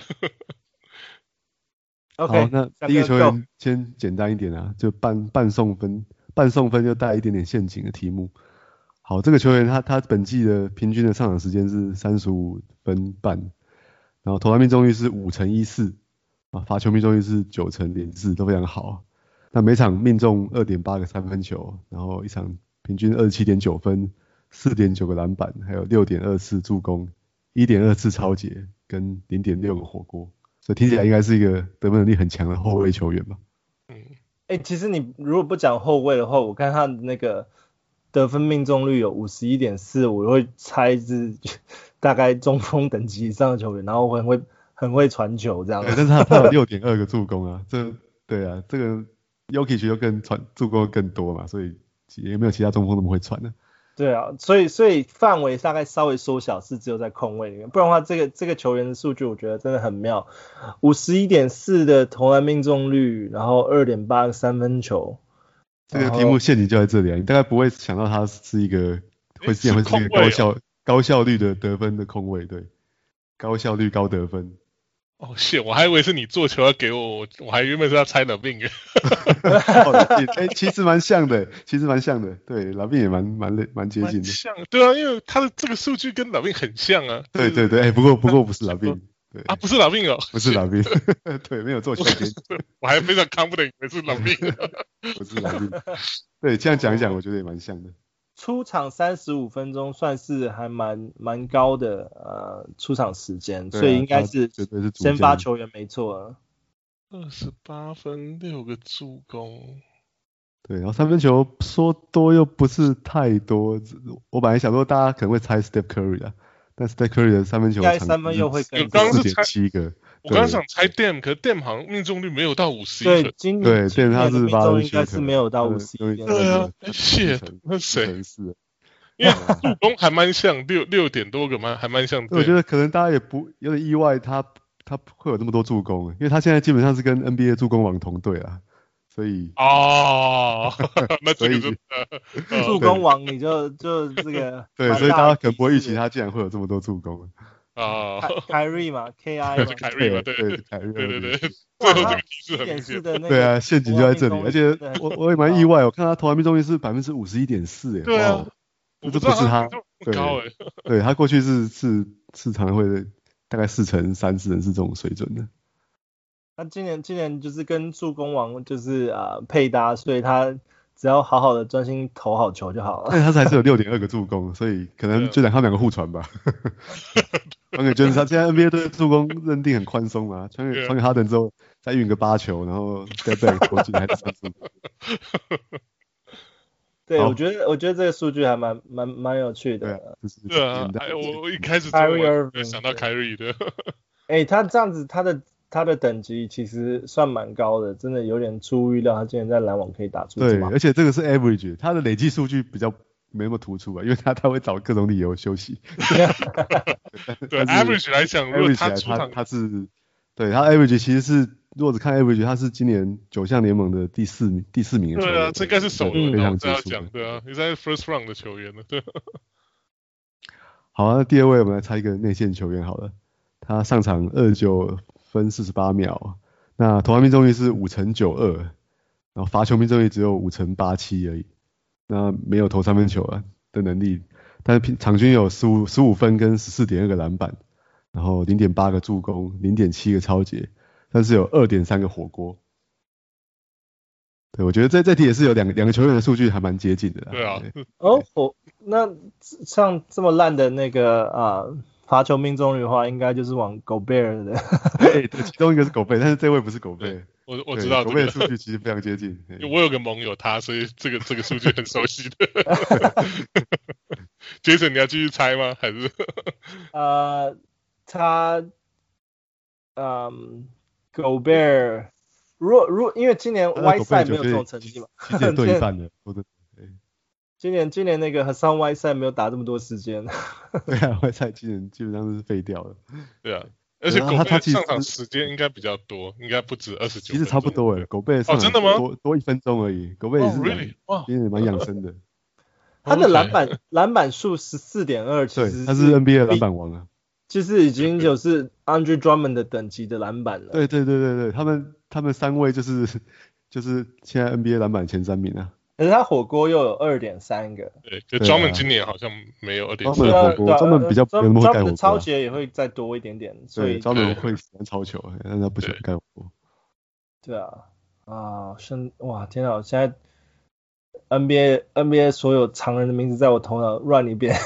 Speaker 1: Okay,
Speaker 2: 好，那第一個球員先簡單一點啊，就半半送分，半送分就帶一點點陷阱的題目。好，這個球員他他本季的平均的上場時間是三十五分半，然後投籃命中率是五成一四，啊，罰球命中率是九成零四，都非常好。那每場命中 二點八 個三分球，然後一場平均 二十七點九 分， 四點九 個籃板，還有 六點二 次助攻， 一點二 次抄截，跟 零點六 個火鍋。所以聽起來應該是一個得分能力很強的後衛球員吧？
Speaker 1: 嗯，哎、欸，其實你如果不講後衛的話，我看他的那個得分命中率有 五十一點四， 我會猜是大概中鋒等級以上的球員，然後很會很會傳球這樣。
Speaker 2: 但是他他有 六點二 個助攻啊，這對啊，這個 Jokic 就更傳助攻更多嘛，所以也沒有其他中鋒那麼會傳的、啊。
Speaker 1: 對啊，所以所以範圍大概稍微縮小，是只有在控衛裡面，不然的話，這個這個球員的數據我覺得真的很妙， 五十一點四 的投籃命中率，然後 二點八 個三分球。
Speaker 2: 這個題目陷阱就在這裡啊，你大概不會想到他是一個會現會是一個高效、哦、高效率的得分的控衛，對，高效率高得分。
Speaker 3: 哦，謝，我還以為是你做球要給我，我我還原本是要猜LaVine。
Speaker 2: 哎，其實蠻像的，其實蠻像的，對，LaVine也蠻蠻蠻接近的。
Speaker 3: 像，對啊，因為他的這個數據跟LaVine很像啊。
Speaker 2: 對對對，哎，不過不過不是LaVine， 對
Speaker 3: 啊，不是老兵哦，
Speaker 2: 不是老兵，對，沒有做期間，
Speaker 3: 我還非常 confident 以為是老兵，
Speaker 2: 不是老兵。對，這樣講一講，我覺得也蠻像的。
Speaker 1: 出場三十五分鐘算是還蠻蠻高的呃出場時間，啊，所以應該是先發球員沒錯啊。
Speaker 3: 二十八分，六個助攻。
Speaker 2: 對，然後三分球說多又不是太多，我本來想說大家可能會猜 Steph Curry 啊，但 Steph Curry 的三分球
Speaker 1: 應該三分又會更
Speaker 3: 高，
Speaker 2: 四點七個。
Speaker 3: 我剛剛想猜 Dame， 可是 Dame 好像命中率沒有到五十一分。
Speaker 1: 對，今
Speaker 2: 對 Dame 他是
Speaker 1: 命中應該是沒有到五十一。
Speaker 3: 對啊，謝，那誰？因為助攻還蠻像六六點多個嘛，還蠻像。
Speaker 2: 我覺得可能大家也不有點意外他，他他會有那麼多助攻，因為他現在基本上是跟 N B A 助攻王同隊啊，所以
Speaker 3: 哦，那這個就
Speaker 1: 助攻王你就就這個
Speaker 2: 對，所以大家可能不會預期他竟然會有這麼多助攻
Speaker 3: 啊。
Speaker 1: Kyrie 嘛 ，K I 嘛，
Speaker 3: 是 Kyrie 嘛，對對對對對，
Speaker 1: 最
Speaker 3: 後這個提示很明顯。
Speaker 2: 對啊，陷阱就在這裡，而且我我也蠻意外，我看他投籃命中率是百分之五十一點四，哎，
Speaker 3: 對啊，
Speaker 2: 這不是他，對，對他過去是是是常會的，大概四成三四成是這種水準的。
Speaker 1: 他今年今年就是跟助攻王就是啊、呃、配搭，所以他只要好好的專心投好球就好了。
Speaker 2: 但他還是有六點二個助攻，所以可能就讓他們兩個互傳吧。傳給就是他現在 N B A 對助攻認定很寬鬆嘛，傳給傳給哈登之後再運個八球，然後 step back 投進還是三分。
Speaker 1: 對，我覺得我覺得這個數據還蠻蠻蠻有趣的。
Speaker 3: 對，對啊，我我一開始就想到 Kyrie 的。
Speaker 1: 哎、欸，他這樣子，他的他的等級其實算蠻高的，真的有點出乎預料，他竟然在籃網可以打出。
Speaker 2: 對，而且這個是 average， 他的累計數據比較沒那麼突出啊，因為他他會找各種理由休息。
Speaker 3: 對 average 來講，如果他
Speaker 2: 他他是對他 average 其實是。如果只看 average， 他是今年九項聯盟的第四名，第四名的球員。
Speaker 3: 對啊，這應該是首輪，
Speaker 2: 非常
Speaker 3: 這樣講，對啊，也在 first round 的球員了，對。
Speaker 2: 好、啊，那第二位我們來猜一個內線球員好了，他上場二十九分四十八秒，那投籃命中率是五成九二，然後罰球命中率只有五成八七而已，那沒有投三分球啊的能力，但是場均有十五十五分跟十四點二個籃板，然後零點八個助攻，零點七個抄截。但是有 二點三個火鍋，對，我覺得這這題也是有兩個兩個球員的數據還蠻接近的啦。
Speaker 3: 對啊，
Speaker 2: 對
Speaker 1: 哦，火那像這麼爛的那個啊罰球命中率的話，應該就是往 Gobert 的。
Speaker 2: 對，其中一個是 Gobert，但是這位不是 Gobert。
Speaker 3: 我我知道
Speaker 2: Gobert 的數據其實非常接近。
Speaker 3: 我有個盟友他，所以這個這個數據很熟悉的。Jason， 你要繼續猜嗎？還是？
Speaker 1: 呃，他，嗯。Gobert， 如果如果因為今年 Whiteside 沒有這種成績嘛，
Speaker 2: 其實也對一半的，
Speaker 1: 今年今年那個 Hassan Whiteside 沒有打這麼多時間。
Speaker 2: 對啊 ，Whiteside 基本基本上是廢掉了。
Speaker 3: 對啊，而且 Gobert 上場時間應該比較多，應該不止二十九。
Speaker 2: 其實差不多誒 ，Gobert 上場多多一分鐘而已 ，Gobert 也是蠻其實蠻養生的。
Speaker 1: 他的籃板籃板數十四點二，其實
Speaker 2: 他是 N B A 籃板王啊。
Speaker 1: 就是已經就是 Andre Drummond 的等級的籃板了。
Speaker 2: 對對對對對，他們他們三位就是就是現在 N B A 籃板前三名啊。
Speaker 1: 可是他火鍋又有 二點三個。
Speaker 3: 對，就 Drummond 今年好像沒有 二點三。
Speaker 2: Drummond 比較沒那麼會蓋火鍋。
Speaker 1: 抄截也會再多一點點，所以
Speaker 2: Drummond 會喜歡抄球，但他不喜歡蓋火鍋。
Speaker 1: 對啊，啊，生哇天啊！現在 N B A N B A 所有常人的名字在我頭腦亂一遍。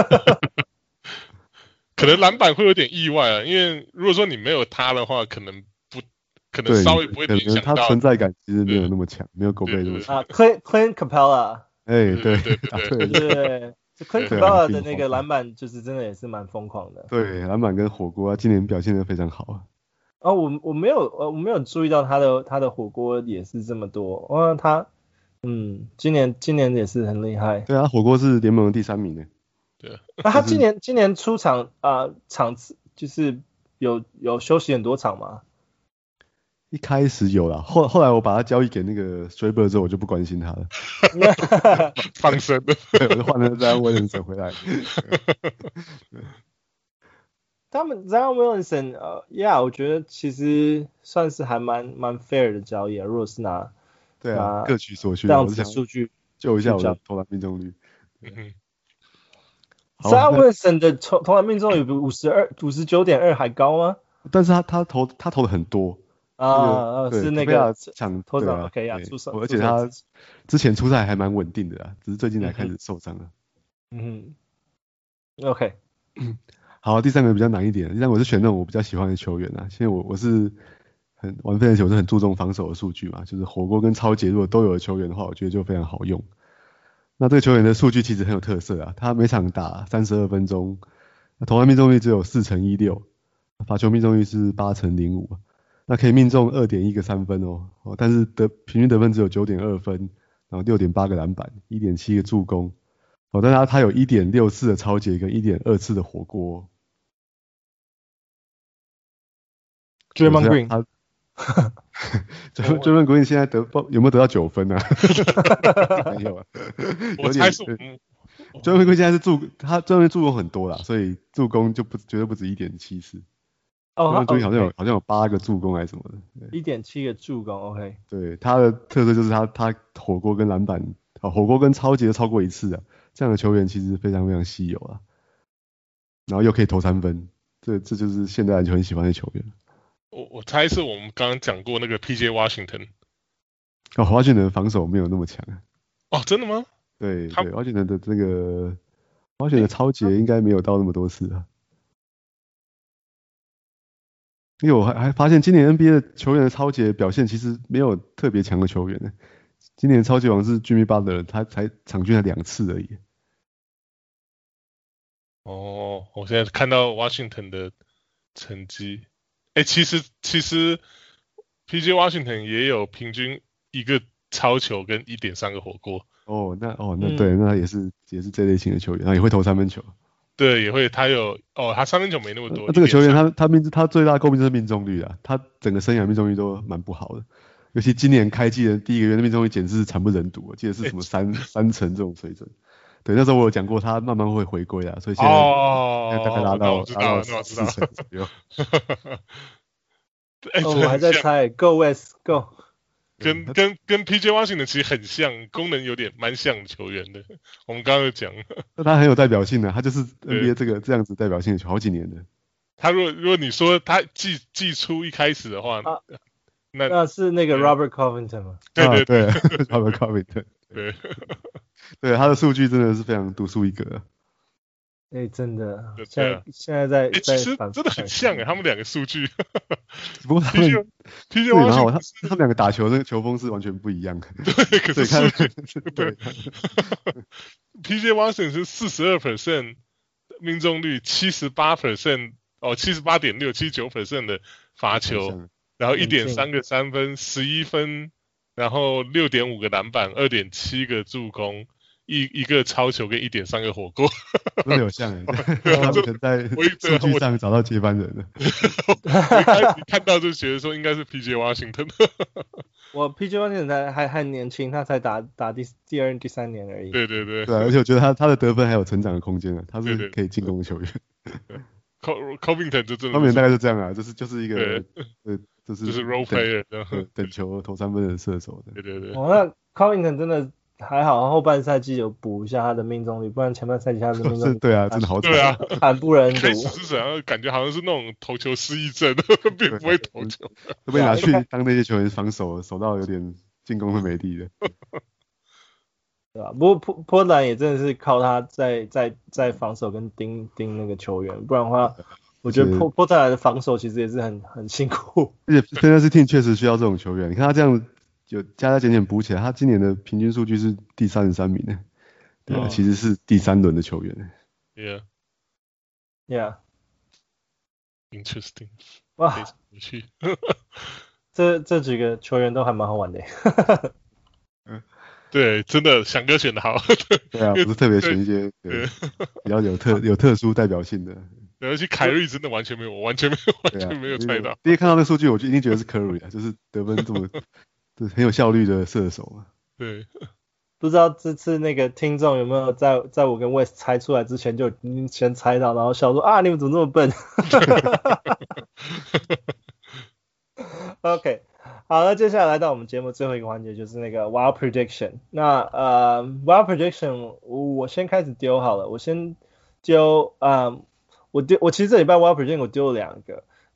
Speaker 3: 可能籃板會有點意外啊，因為如果說你沒有他的話，可能不，可能稍微不會聯想到。
Speaker 2: 他存在感其實沒有那麼強，沒有狗貝那麼強。
Speaker 1: 啊 ，Clint Clint Capella。
Speaker 2: 哎，對
Speaker 3: 對
Speaker 1: 對對 ，Clint Capella 的那個籃板就是真的也是蠻瘋狂的。
Speaker 2: 對，籃板跟火鍋，今年表現得非常好啊。
Speaker 1: 哦，我我沒有呃我沒有注意到他的他的火鍋也是這麼多，哇，他嗯，今年今年也是很厲害。
Speaker 2: 對啊，火鍋是聯盟的第三名呢。
Speaker 3: 對，
Speaker 1: 那、啊、他今年、就是、今年出場啊、呃、場次就是有有休息很多場嗎？
Speaker 2: 一開始有啦，後後來我把他交易給那個 Straber 之後，我就不關心他了。
Speaker 3: 放生了，
Speaker 2: 對，我就換了 Zion Williamson 回來。
Speaker 1: 他們 Zion Williamson 呃 ，Yeah， 我覺得其實算是還蠻蠻 fair 的交易啊。如果是拿
Speaker 2: 對啊，各取所需，
Speaker 1: 這樣子數據
Speaker 2: 救一下我的投籃命中率。
Speaker 3: 嗯哼。
Speaker 1: Zion Williamson 的投投籃命中率比五十二、五十九點二還高嗎？
Speaker 2: 但是他他投他投的很多
Speaker 1: 啊、那個，是那個
Speaker 2: 搶
Speaker 1: 投手 OK
Speaker 2: 呀，
Speaker 1: 出手，
Speaker 2: 而且他之前出賽還蠻穩定的啊，只是最近才開始受傷了。
Speaker 1: 嗯哼 ，OK，
Speaker 2: 好，第三個比較難一點，第三個我是選那種我比較喜歡的球員啊，因為我我是很玩飛人球，我是很注重防守的數據嘛，就是火鍋跟抄截如果都有的球員的話，我覺得就非常好用。那這個球員的數據其實很有特色啊，他每場打三十二分鐘，投籃命中率只有四成一六，罰球命中率是八成零五，那可以命中 二點一 個三分哦，哦但是得平均得分只有 九點二 分，然後 六點八 個籃板， 一點七 個助攻，哦，但是他他有 一點六 次的抄截跟 一點二 次的火鍋。
Speaker 1: Draymond Green。
Speaker 2: Draymond Green 現在得有沒有得到九分啊？沒有啊，
Speaker 3: 我猜是。
Speaker 2: Draymond Green 現在是助他 Draymond Green 助攻很多啦，所以助攻就不絕對不止 一點七 次。哦，他 Draymond Green 好像有、okay. 好像有八個助攻還是什麼的。
Speaker 1: 一點七個助攻 ，OK。
Speaker 2: 對，他的特色就是他他火鍋跟籃板，啊火鍋跟抄截都超過一次啊，這樣的球員其實非常非常稀有啊。然後又可以投三分，這這就是現代籃球很喜歡的球員。
Speaker 3: 我我猜是我們剛剛講過那個 P J Washington。
Speaker 2: 哦，華盛頓的防守沒有那麼強。
Speaker 3: 哦，真的嗎？
Speaker 2: 對對，華盛頓的這個華盛頓的抄截應該沒有到那麼多次啊。因為我還還發現今年 N B A 的球員的抄截表現其實沒有特別強的球員呢。今年抄截王是 Jimmy Butler，他才場均才兩次而已。
Speaker 3: 哦，我現在看到 Washington 的成績。哎、欸，其實其實 P J Washington 也有平均一個抄球跟 一點三 個火鍋。
Speaker 2: 哦，那哦那對，嗯、那也是也是這類型的球員，他也會投三分球。
Speaker 3: 對，也會，他有哦，他三分球沒那麼多。
Speaker 2: 那這個球員他他命他最大的詬病就是命中率啊，他整個生涯命中率都蠻不好的，尤其今年開季的第一個月的命中率簡直是慘不忍睹，我記得是什麼三、欸、三成這種水準。對，那時候我有講過他慢慢會回歸啊，所以現在、哦、現在大概拉到拉到四成左右。
Speaker 1: 欸哦、我還在猜 ，Go West Go。
Speaker 3: 跟跟跟 P J Washington 其實很像，功能有點蠻像的球員的。我們剛剛有講，
Speaker 2: 那他很有代表性的，他就是 N B A 這個這樣子代表性的球，好幾年的。
Speaker 3: 他如果如果你說他季季初一開始的話，啊、那
Speaker 1: 那是那個 Robert Covington 嗎？
Speaker 3: 對對對，
Speaker 2: 啊、對，Robert Covington。
Speaker 3: 對，
Speaker 2: 對，他的數據真的是非常獨樹一格。
Speaker 1: 哎、欸，真的，
Speaker 3: 對
Speaker 1: 現在、啊、現在在，
Speaker 3: 欸、
Speaker 1: 在
Speaker 3: 其實真的很像哎，他們兩個數據。
Speaker 2: 不過他們
Speaker 3: P J Washington
Speaker 2: 他他們兩個打球的球風是完全不一樣的。
Speaker 3: 對，可是數據
Speaker 2: 對。
Speaker 3: P J Washington 是 百分之四十二 命中率 百分之七十八 哦 七十八點六 七十九 的罰球，然後 一點三 個三分，十一分，然後 六點五 個籃板， 二點七 個助攻。一一個抄球跟 一點三 個火鍋，
Speaker 2: 真的有像哎，他們在數據上找到接班人了。
Speaker 3: 我一開始看到就覺得說應該是 P J Washington。
Speaker 1: 我 P J Washington 還還還年輕，他才打打第第二第三年而已。
Speaker 3: 對對對，
Speaker 2: 對、啊，而且我覺得他他的得分還有成長的空間啊，他是可以進攻的球員。
Speaker 3: Covington 就真的，
Speaker 2: 他們大概是這樣啊，就是就是一個呃，就是
Speaker 3: 就是 role player，
Speaker 2: 等球投三分的射手的。
Speaker 3: 對對對。
Speaker 1: 哦，那 Covington 真的。還好，後半賽季有補一下他的命中率，不然前半賽季他的命中率
Speaker 2: 對啊，真的好慘，
Speaker 3: 對啊，
Speaker 1: 慘不忍睹。
Speaker 3: 開始是怎樣？感覺好像是那種投球失憶症，並不會投球，
Speaker 2: 會被拿去當那些球員防守，守到有點進攻會沒力的，
Speaker 1: 對吧？不過波波蘭也真的是靠他在在在防守跟盯盯那個球員，不然的話，我覺得波波特蘭的防守其實也是很很辛苦。
Speaker 2: 而且 Fantasy Team 確實需要這種球員，你看他這樣。就加加減減補起來，他今年的平均數據是第三十三名呢，對啊，哦、其實是第三輪的球員。
Speaker 3: Yeah,
Speaker 1: yeah,
Speaker 3: interesting.
Speaker 1: 哇，有趣。這這幾個球員都還蠻好玩的。
Speaker 3: 嗯，對，真的翔哥選的好。
Speaker 2: 對啊，不是特別選一些對對比較有特有特殊代表性的。
Speaker 3: 而且凱瑞真的完全沒有，我完全沒有，完全沒有猜到。
Speaker 2: 第一看到那數據，我就一定覺得是凱瑞啊，就是得分這麼。是很有效率的射手啊。
Speaker 3: 對，
Speaker 1: 不知道這次那個聽眾有沒有在在我跟 West 猜出來之前就先猜到，然後笑說啊，你們怎麼這麼笨？OK， 好，那接下來來到我們節目最後一個環節，就是那個 Wild Prediction。那呃 Wild Prediction 我，我先開始丟好了，我先丟啊、呃，我丟我其實這禮拜 Wild Prediction 我丟了兩個。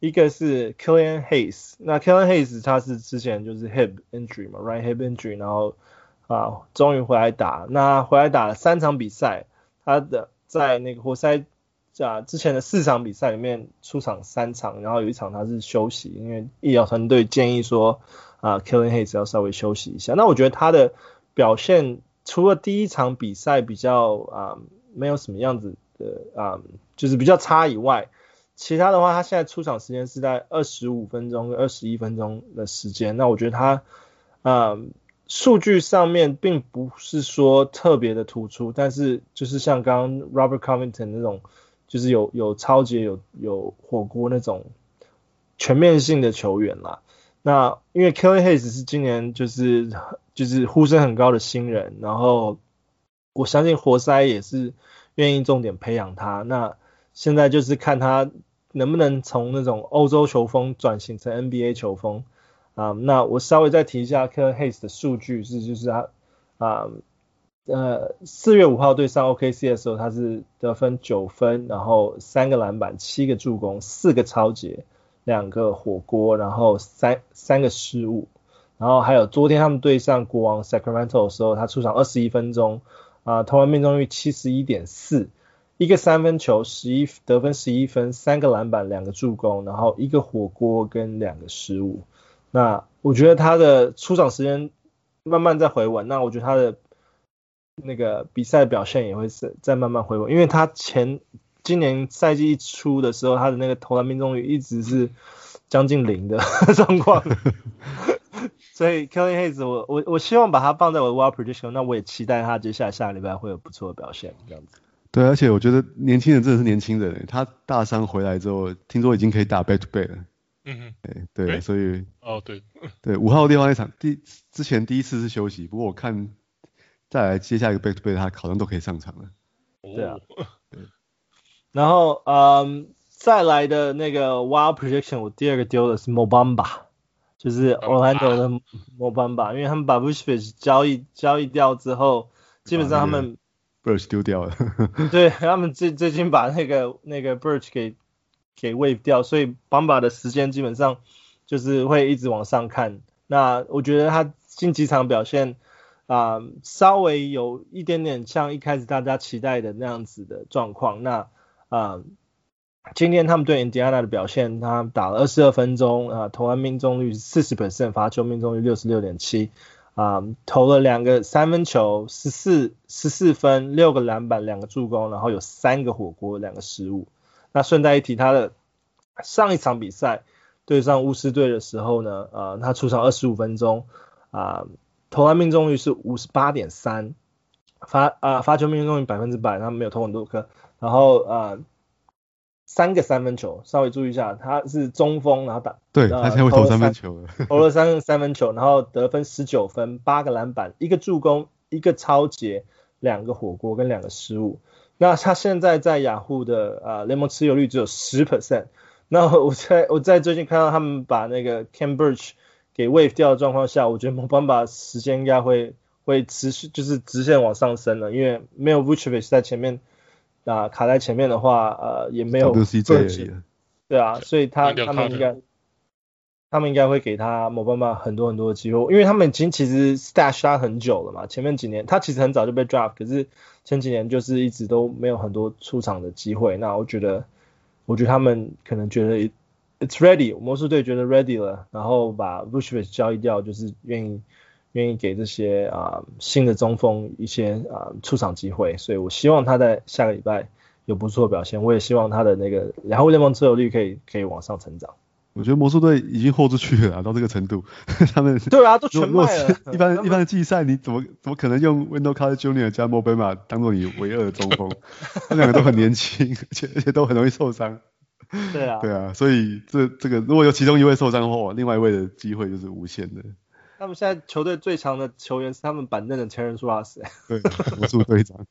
Speaker 1: 一個是 Killian Hayes， 那 Killian Hayes 他是之前就是 hip injury 嘛 ，right hip injury， 然後啊終於回來打，那回來打了三場比賽，他的在那個活塞啊之前的四場比賽裡面出場三場，然後有一場他是休息，因為醫療團隊建議說啊 Killian Hayes 要稍微休息一下。那我覺得他的表現除了第一場比賽比較啊沒有什麼樣子的啊就是比較差以外，其他的話，他現在出場時間是在二十五分鐘跟二十一分鐘的時間。那我覺得他，呃，數據上面並不是說特別的突出，但是就是像剛剛 Robert Covington 那種，就是有有抄截、有有火鍋那種全面性的球員啦。那因為 Killian Hayes 是今年就是就是呼聲很高的新人，然後我相信活塞也是願意重點培養他。那現在就是看他能不能從那種歐洲球風轉型成 N B A 球風啊、嗯。那我稍微再提一下 Killian Hayes 的數據是，就是他啊呃四月五號對上 O K C 的時候，他是得分九分，然後三個籃板、七個助攻、四個抄截、兩個火鍋，然後三三個失誤。然後還有昨天他們對上國王 Sacramento 的時候，他出場二十一分鐘啊，投籃命中率 七十一點四。一個三分球，十一得分十一分，三個籃板，兩個助攻，然後一個火鍋跟兩個失誤。那我覺得他的出場時間慢慢在回穩，那我覺得他的那個比賽表現也會是在慢慢回穩，因為他前今年賽季一出的時候，他的那個投籃命中率一直是將近零的狀況。所以 Killian Hayes 我我我希望把他放在我的 Wild Prediction， 那我也期待他接下來下個禮拜會有不錯的表現，這樣子。
Speaker 2: 對，而且我覺得年輕人真的是年輕人，他大傷回來之後，聽說已經可以打 back to back 了。嗯哼，對對，所以
Speaker 3: 哦對
Speaker 2: 對五號電話那場第之前第一次是休息，不過我看再來接下一個 back to back 他好像都可以上場了。
Speaker 1: 對啊，對。然後嗯，再來的那個 Wild Prediction， 我第二個丟的是 Mo Bamba， 就是 Orlando 的 Mo Bamba， 因為他們把 Vucevic 交易交易掉之後，基本上他們。
Speaker 2: Birch 丟掉了
Speaker 1: 對，他們最最近把那個那個 Birch 給給 waive 掉，所以 Bamba 的時間基本上就是會一直往上看。那我覺得他近幾場表現啊、呃，稍微有一點點像一開始大家期待的那樣子的狀況。那啊、呃，今天他們對 Indiana 的表現，他打了二十二分鐘啊、呃，投籃命中率是 百分之四十， 罰球命中率 六十六點七。啊、um, 投了兩個三分球，十四十四分，六個籃板，兩個助攻，然後有三個火鍋，兩個失誤。那順帶一提，他的上一場比賽對上巫師隊的時候呢，呃，他出場二十五分鐘，啊、呃，投籃命中率是 五十八點三， 罰啊罰球命中率百分之百，他沒有投很多顆，然後呃三個三分球，稍微注意一下，他是中鋒，然後打，
Speaker 2: 對，他現在會投三分球了，
Speaker 1: 投了三個三分球，然後得分十九分，八個籃板，一個助攻，一個抄截，兩個火鍋跟兩個失誤。那他現在在雅虎的呃聯盟持有率只有 百分之十。那我在我在最近看到他們把那個 Khem Birch 給 waive 掉的狀況下，我覺得 Mo Bamba 時間應該會會持續就是直線往上升了，因為沒有 Vucevic 在前面。啊，卡在前面的話，呃，也沒有
Speaker 2: W C J，
Speaker 1: 對啊，所以他他們應該，他們應該會給他Mo Bamba很多很多的機會，因為他們已經其實 stash 他很久了嘛，前面幾年他其實很早就被 draft， 可是前幾年就是一直都沒有很多出場的機會。那我覺得，我覺得他們可能覺得 it's ready， 魔術隊覺得 ready 了，然後把 Vucevic 交易掉，就是願意。願意給這些啊、呃、新的中鋒一些啊、呃、出場機會，所以我希望他在下個禮拜有不錯的表現。我也希望他的那個兩號聯盟持有率可以可以往上成長。
Speaker 2: 我覺得魔術隊已經豁出去了、啊，到這個程度，他們
Speaker 1: 對啊，都全賣了。
Speaker 2: 一般一般的季賽，你怎麼怎麼可能用 Wendell Carter Junior 加 Mo Bamba 當做你唯二的中鋒？他兩個都很年輕，而且而且都很容易受傷。
Speaker 1: 對啊，
Speaker 2: 對啊，所以這這個如果有其中一位受傷的話，另外一位的機會就是無限的。
Speaker 1: 他們現在球隊最強的球員是他們板凳的 Terrence Ross，
Speaker 2: 對，魔術隊長，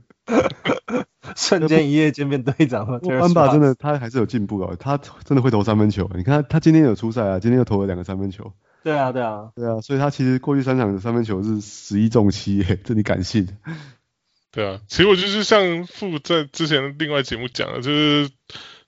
Speaker 1: 瞬間一夜間變隊長了。
Speaker 2: 班巴真的他還是有進步哦，他真的會投三分球。你看他他今天有出賽啊，今天又投了兩個三分球。
Speaker 1: 對啊，對啊，
Speaker 2: 對啊，所以他其實過去三場的三分球是十一中七耶，這你敢信？
Speaker 3: 對啊，其實我就是像傅在之前另外節目講的，就是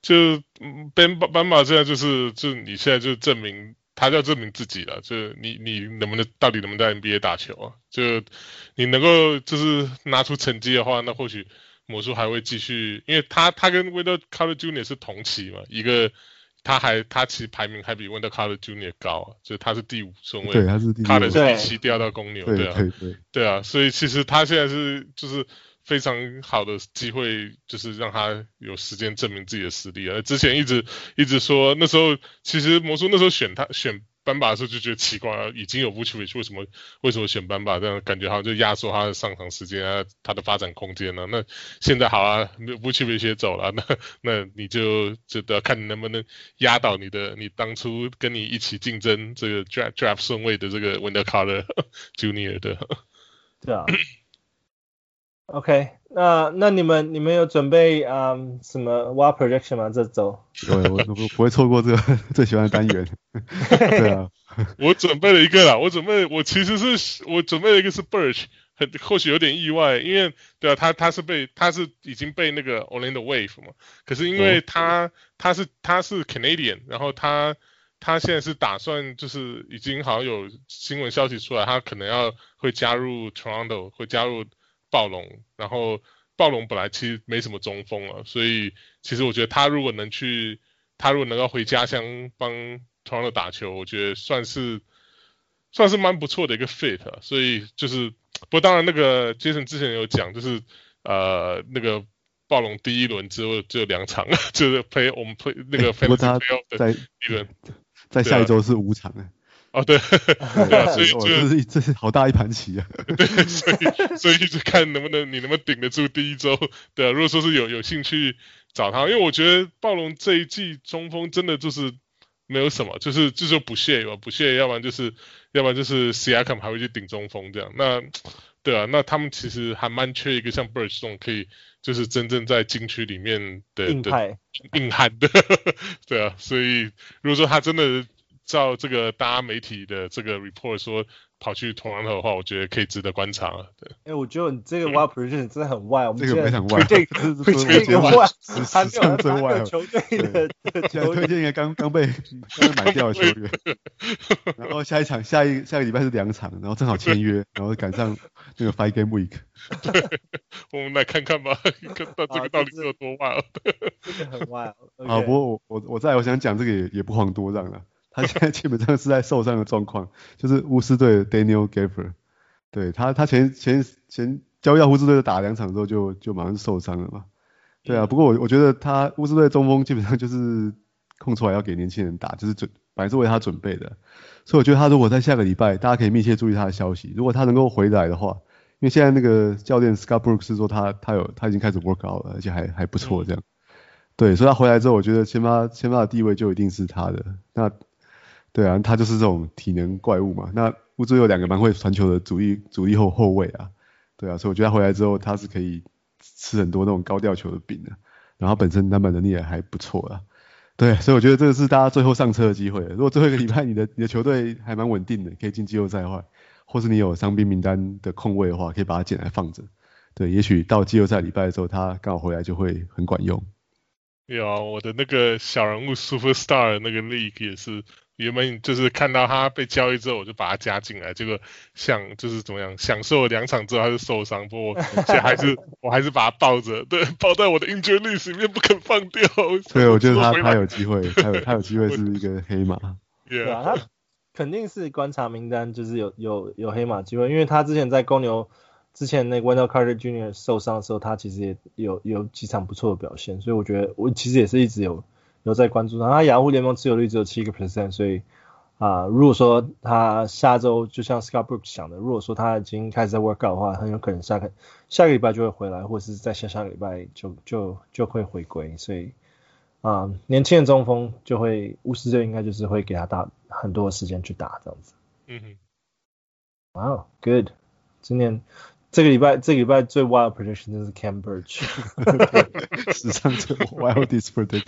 Speaker 3: 就班班馬現在就是就你現在就證明他就要證明自己了，就你你能不能到底能不能在 N B A 打球啊？就你能夠就是拿出成績的話，那或許魔術還會繼續，因為他他跟 Wendell Carter Junior 是同期嘛，一個他還他其實排名還比 Wendell Carter Junior 高啊，就他是第五順位，
Speaker 2: 對，他是第五
Speaker 3: ，Carter 是第七掉到公牛，
Speaker 2: 對
Speaker 3: 對啊，
Speaker 2: 對對
Speaker 3: 對啊，所以其實他現在是就是非常好的機會，就是讓他有時間證明自己的實力啊。之前一直一直說，那時候其實魔術那時候選他選班巴的時候就覺得奇怪啊，已經有 Vucevic 為什麼為什麼選班巴？這樣感覺好像就壓縮他的上場時間啊，他的發展空間啊。那現在好啊 ，Vucevic 也走了，那那你就就得看你能不能壓倒你的你當初跟你一起競爭這個 draft draft 順位的這個 Wendell Carter Junior 的。
Speaker 1: 對啊。OK， 那那你們你們有準備嗯什麼 W A R projection 嗎？這週？
Speaker 2: 我我我不會錯過這個最喜歡的單元。對啊，
Speaker 3: 我準備了一個啦，我準備我其實是我準備了一個是 Birch， 很或許有點意外，因為對啊，他他是被他是已經被那個 Orlando Wave 嘛，可是因為他、哦、他是他是 Canadian， 然後他他現在是打算就是已經好像有新聞消息出來，他可能要會加入 Toronto， 會加入暴龍，然後暴龍本來其實沒什麼中鋒啊，所以其實我覺得他如果能去，他如果能夠回家鄉幫 Toronto 打球，我覺得算是算是蠻不錯的一個 fit 啊。所以就是，不過當然那個 Jason 之前有講，就是呃那個暴龍第一輪只有只有兩場，就是 play 我們 play 那個 fantasy playoff 的第一輪，
Speaker 2: 在下一周是五場哎。
Speaker 3: 哦，對，對啊，所以就、哦、
Speaker 2: 這是這是好大一盤棋啊。
Speaker 3: 對，所以所以就看能不能你能不能頂得住第一周。對啊，如果說是有有興趣找他，因為我覺得暴龍這一季中鋒真的就是沒有什麼，就是就是不屑嘛，不屑，要不然就是要不然就是 Siakam 還會去頂中鋒這樣。那對啊，那他們其實還蠻缺一個像 Birch 這種可以就是真正在禁區裡面的
Speaker 1: 硬派
Speaker 3: 硬漢的。對啊，所以如果說他真的照這個大家媒體的這個 report 說跑去 Toronto 的話，我覺得可以值得觀察了。對，
Speaker 1: 哎、欸，我覺得你這個 wild prediction 真的很 wild，
Speaker 2: 這個非常 wild，
Speaker 1: 這個推薦一個 wild， 還沒有
Speaker 2: 真 wild
Speaker 1: 球隊的球
Speaker 2: 推薦一個剛剛被剛被買掉的球員，然後下一場下一下個禮拜是兩場，然後正好簽約，然後趕上那個 five game week。
Speaker 3: 對，我們來看看吧，看到這個到底是有多 wild。
Speaker 1: 這個很 wild。
Speaker 2: 好，不過我我我再我想講這個也也不遑多讓了。他現在基本上是在受傷的狀況，就是巫師隊的 Daniel Gafford， 對他他前前前交易到巫師隊打兩場之後就就馬上受傷了嘛，對啊，不過我我覺得他巫師隊中鋒基本上就是空出來要給年輕人打，就是準本來是為他準備的，所以我覺得他如果在下個禮拜，大家可以密切注意他的消息，如果他能夠回來的話，因為現在那個教練 Scott Brooks 是說他他有他已經開始 work out 了，而且還還不錯這樣，對，所以他回來之後，我覺得先發先發的地位就一定是他的那。對啊，他就是這種體能怪物嘛。那巫師有兩個蠻會傳球的主力主力後後衛啊，對啊，所以我覺得他回來之後，他是可以吃很多那種高吊球的餅的。然後本身籃板能力也還不錯啦。對，所以我覺得這個是大家最後上車的機會。如果最後一個禮拜你的你的球隊還蠻穩定的，可以進季後賽的話，或是你有傷兵名單的空位的話，可以把它撿來放着。對，也許到季後賽禮拜的時候，他剛好回來就會很管用。
Speaker 3: 有啊，我的那個小人物 Superstar 那個 League 也是。原本就是看到他被交易之後，我就把他加進來。結果想就是怎麼樣，享受了兩場之後他就受傷，不過我現在還是我還是把他抱着，對，抱在我的 injured list 裡面不肯放掉。
Speaker 2: 對，我覺得他他有機會，他有他有機會是一個黑馬。
Speaker 1: 對啊，他肯定是觀察名單，就是有有有黑馬機會，因為他之前在公牛之前那個 Wendell Carter Junior 受傷的時候，他其實也有有幾場不錯的表現，所以我覺得我其實也是一直有。有在關注他，他雅虎聯盟持有率只有七個 percent， 所以啊、呃，如果說他下周就像 Scott Brooks 想的，如果說他已經開始在 work out 的話，很有可能下個下個禮拜就會回來，或者是在下下個禮拜就就就會回歸，所以啊、呃，年輕的中鋒就會巫師隊應該就是會給他打很多的時間去打這樣子。
Speaker 3: 嗯哼，
Speaker 1: 哇、wow, good， 今年。這個禮拜，這個禮拜最 wild prediction 就是 Cam Birch，
Speaker 2: 史上最 wildest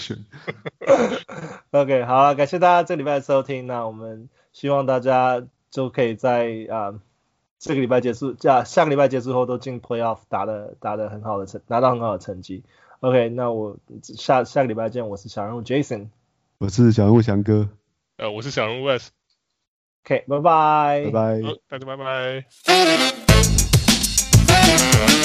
Speaker 2: prediction。OK，
Speaker 1: 好了，感謝大家這個禮拜的收聽。那我們希望大家就可以在啊、呃、這個禮拜結束，下下個禮拜結束後都進 playoff 打的打的很好的成，拿到很好的成績 OK， 那我下下個禮拜見。我是小人物 Jason，
Speaker 2: 我是小人物翔哥，
Speaker 3: 呃，我是小人物
Speaker 1: Wes。OK， 拜拜，
Speaker 2: 拜拜，
Speaker 3: 好，大家拜拜。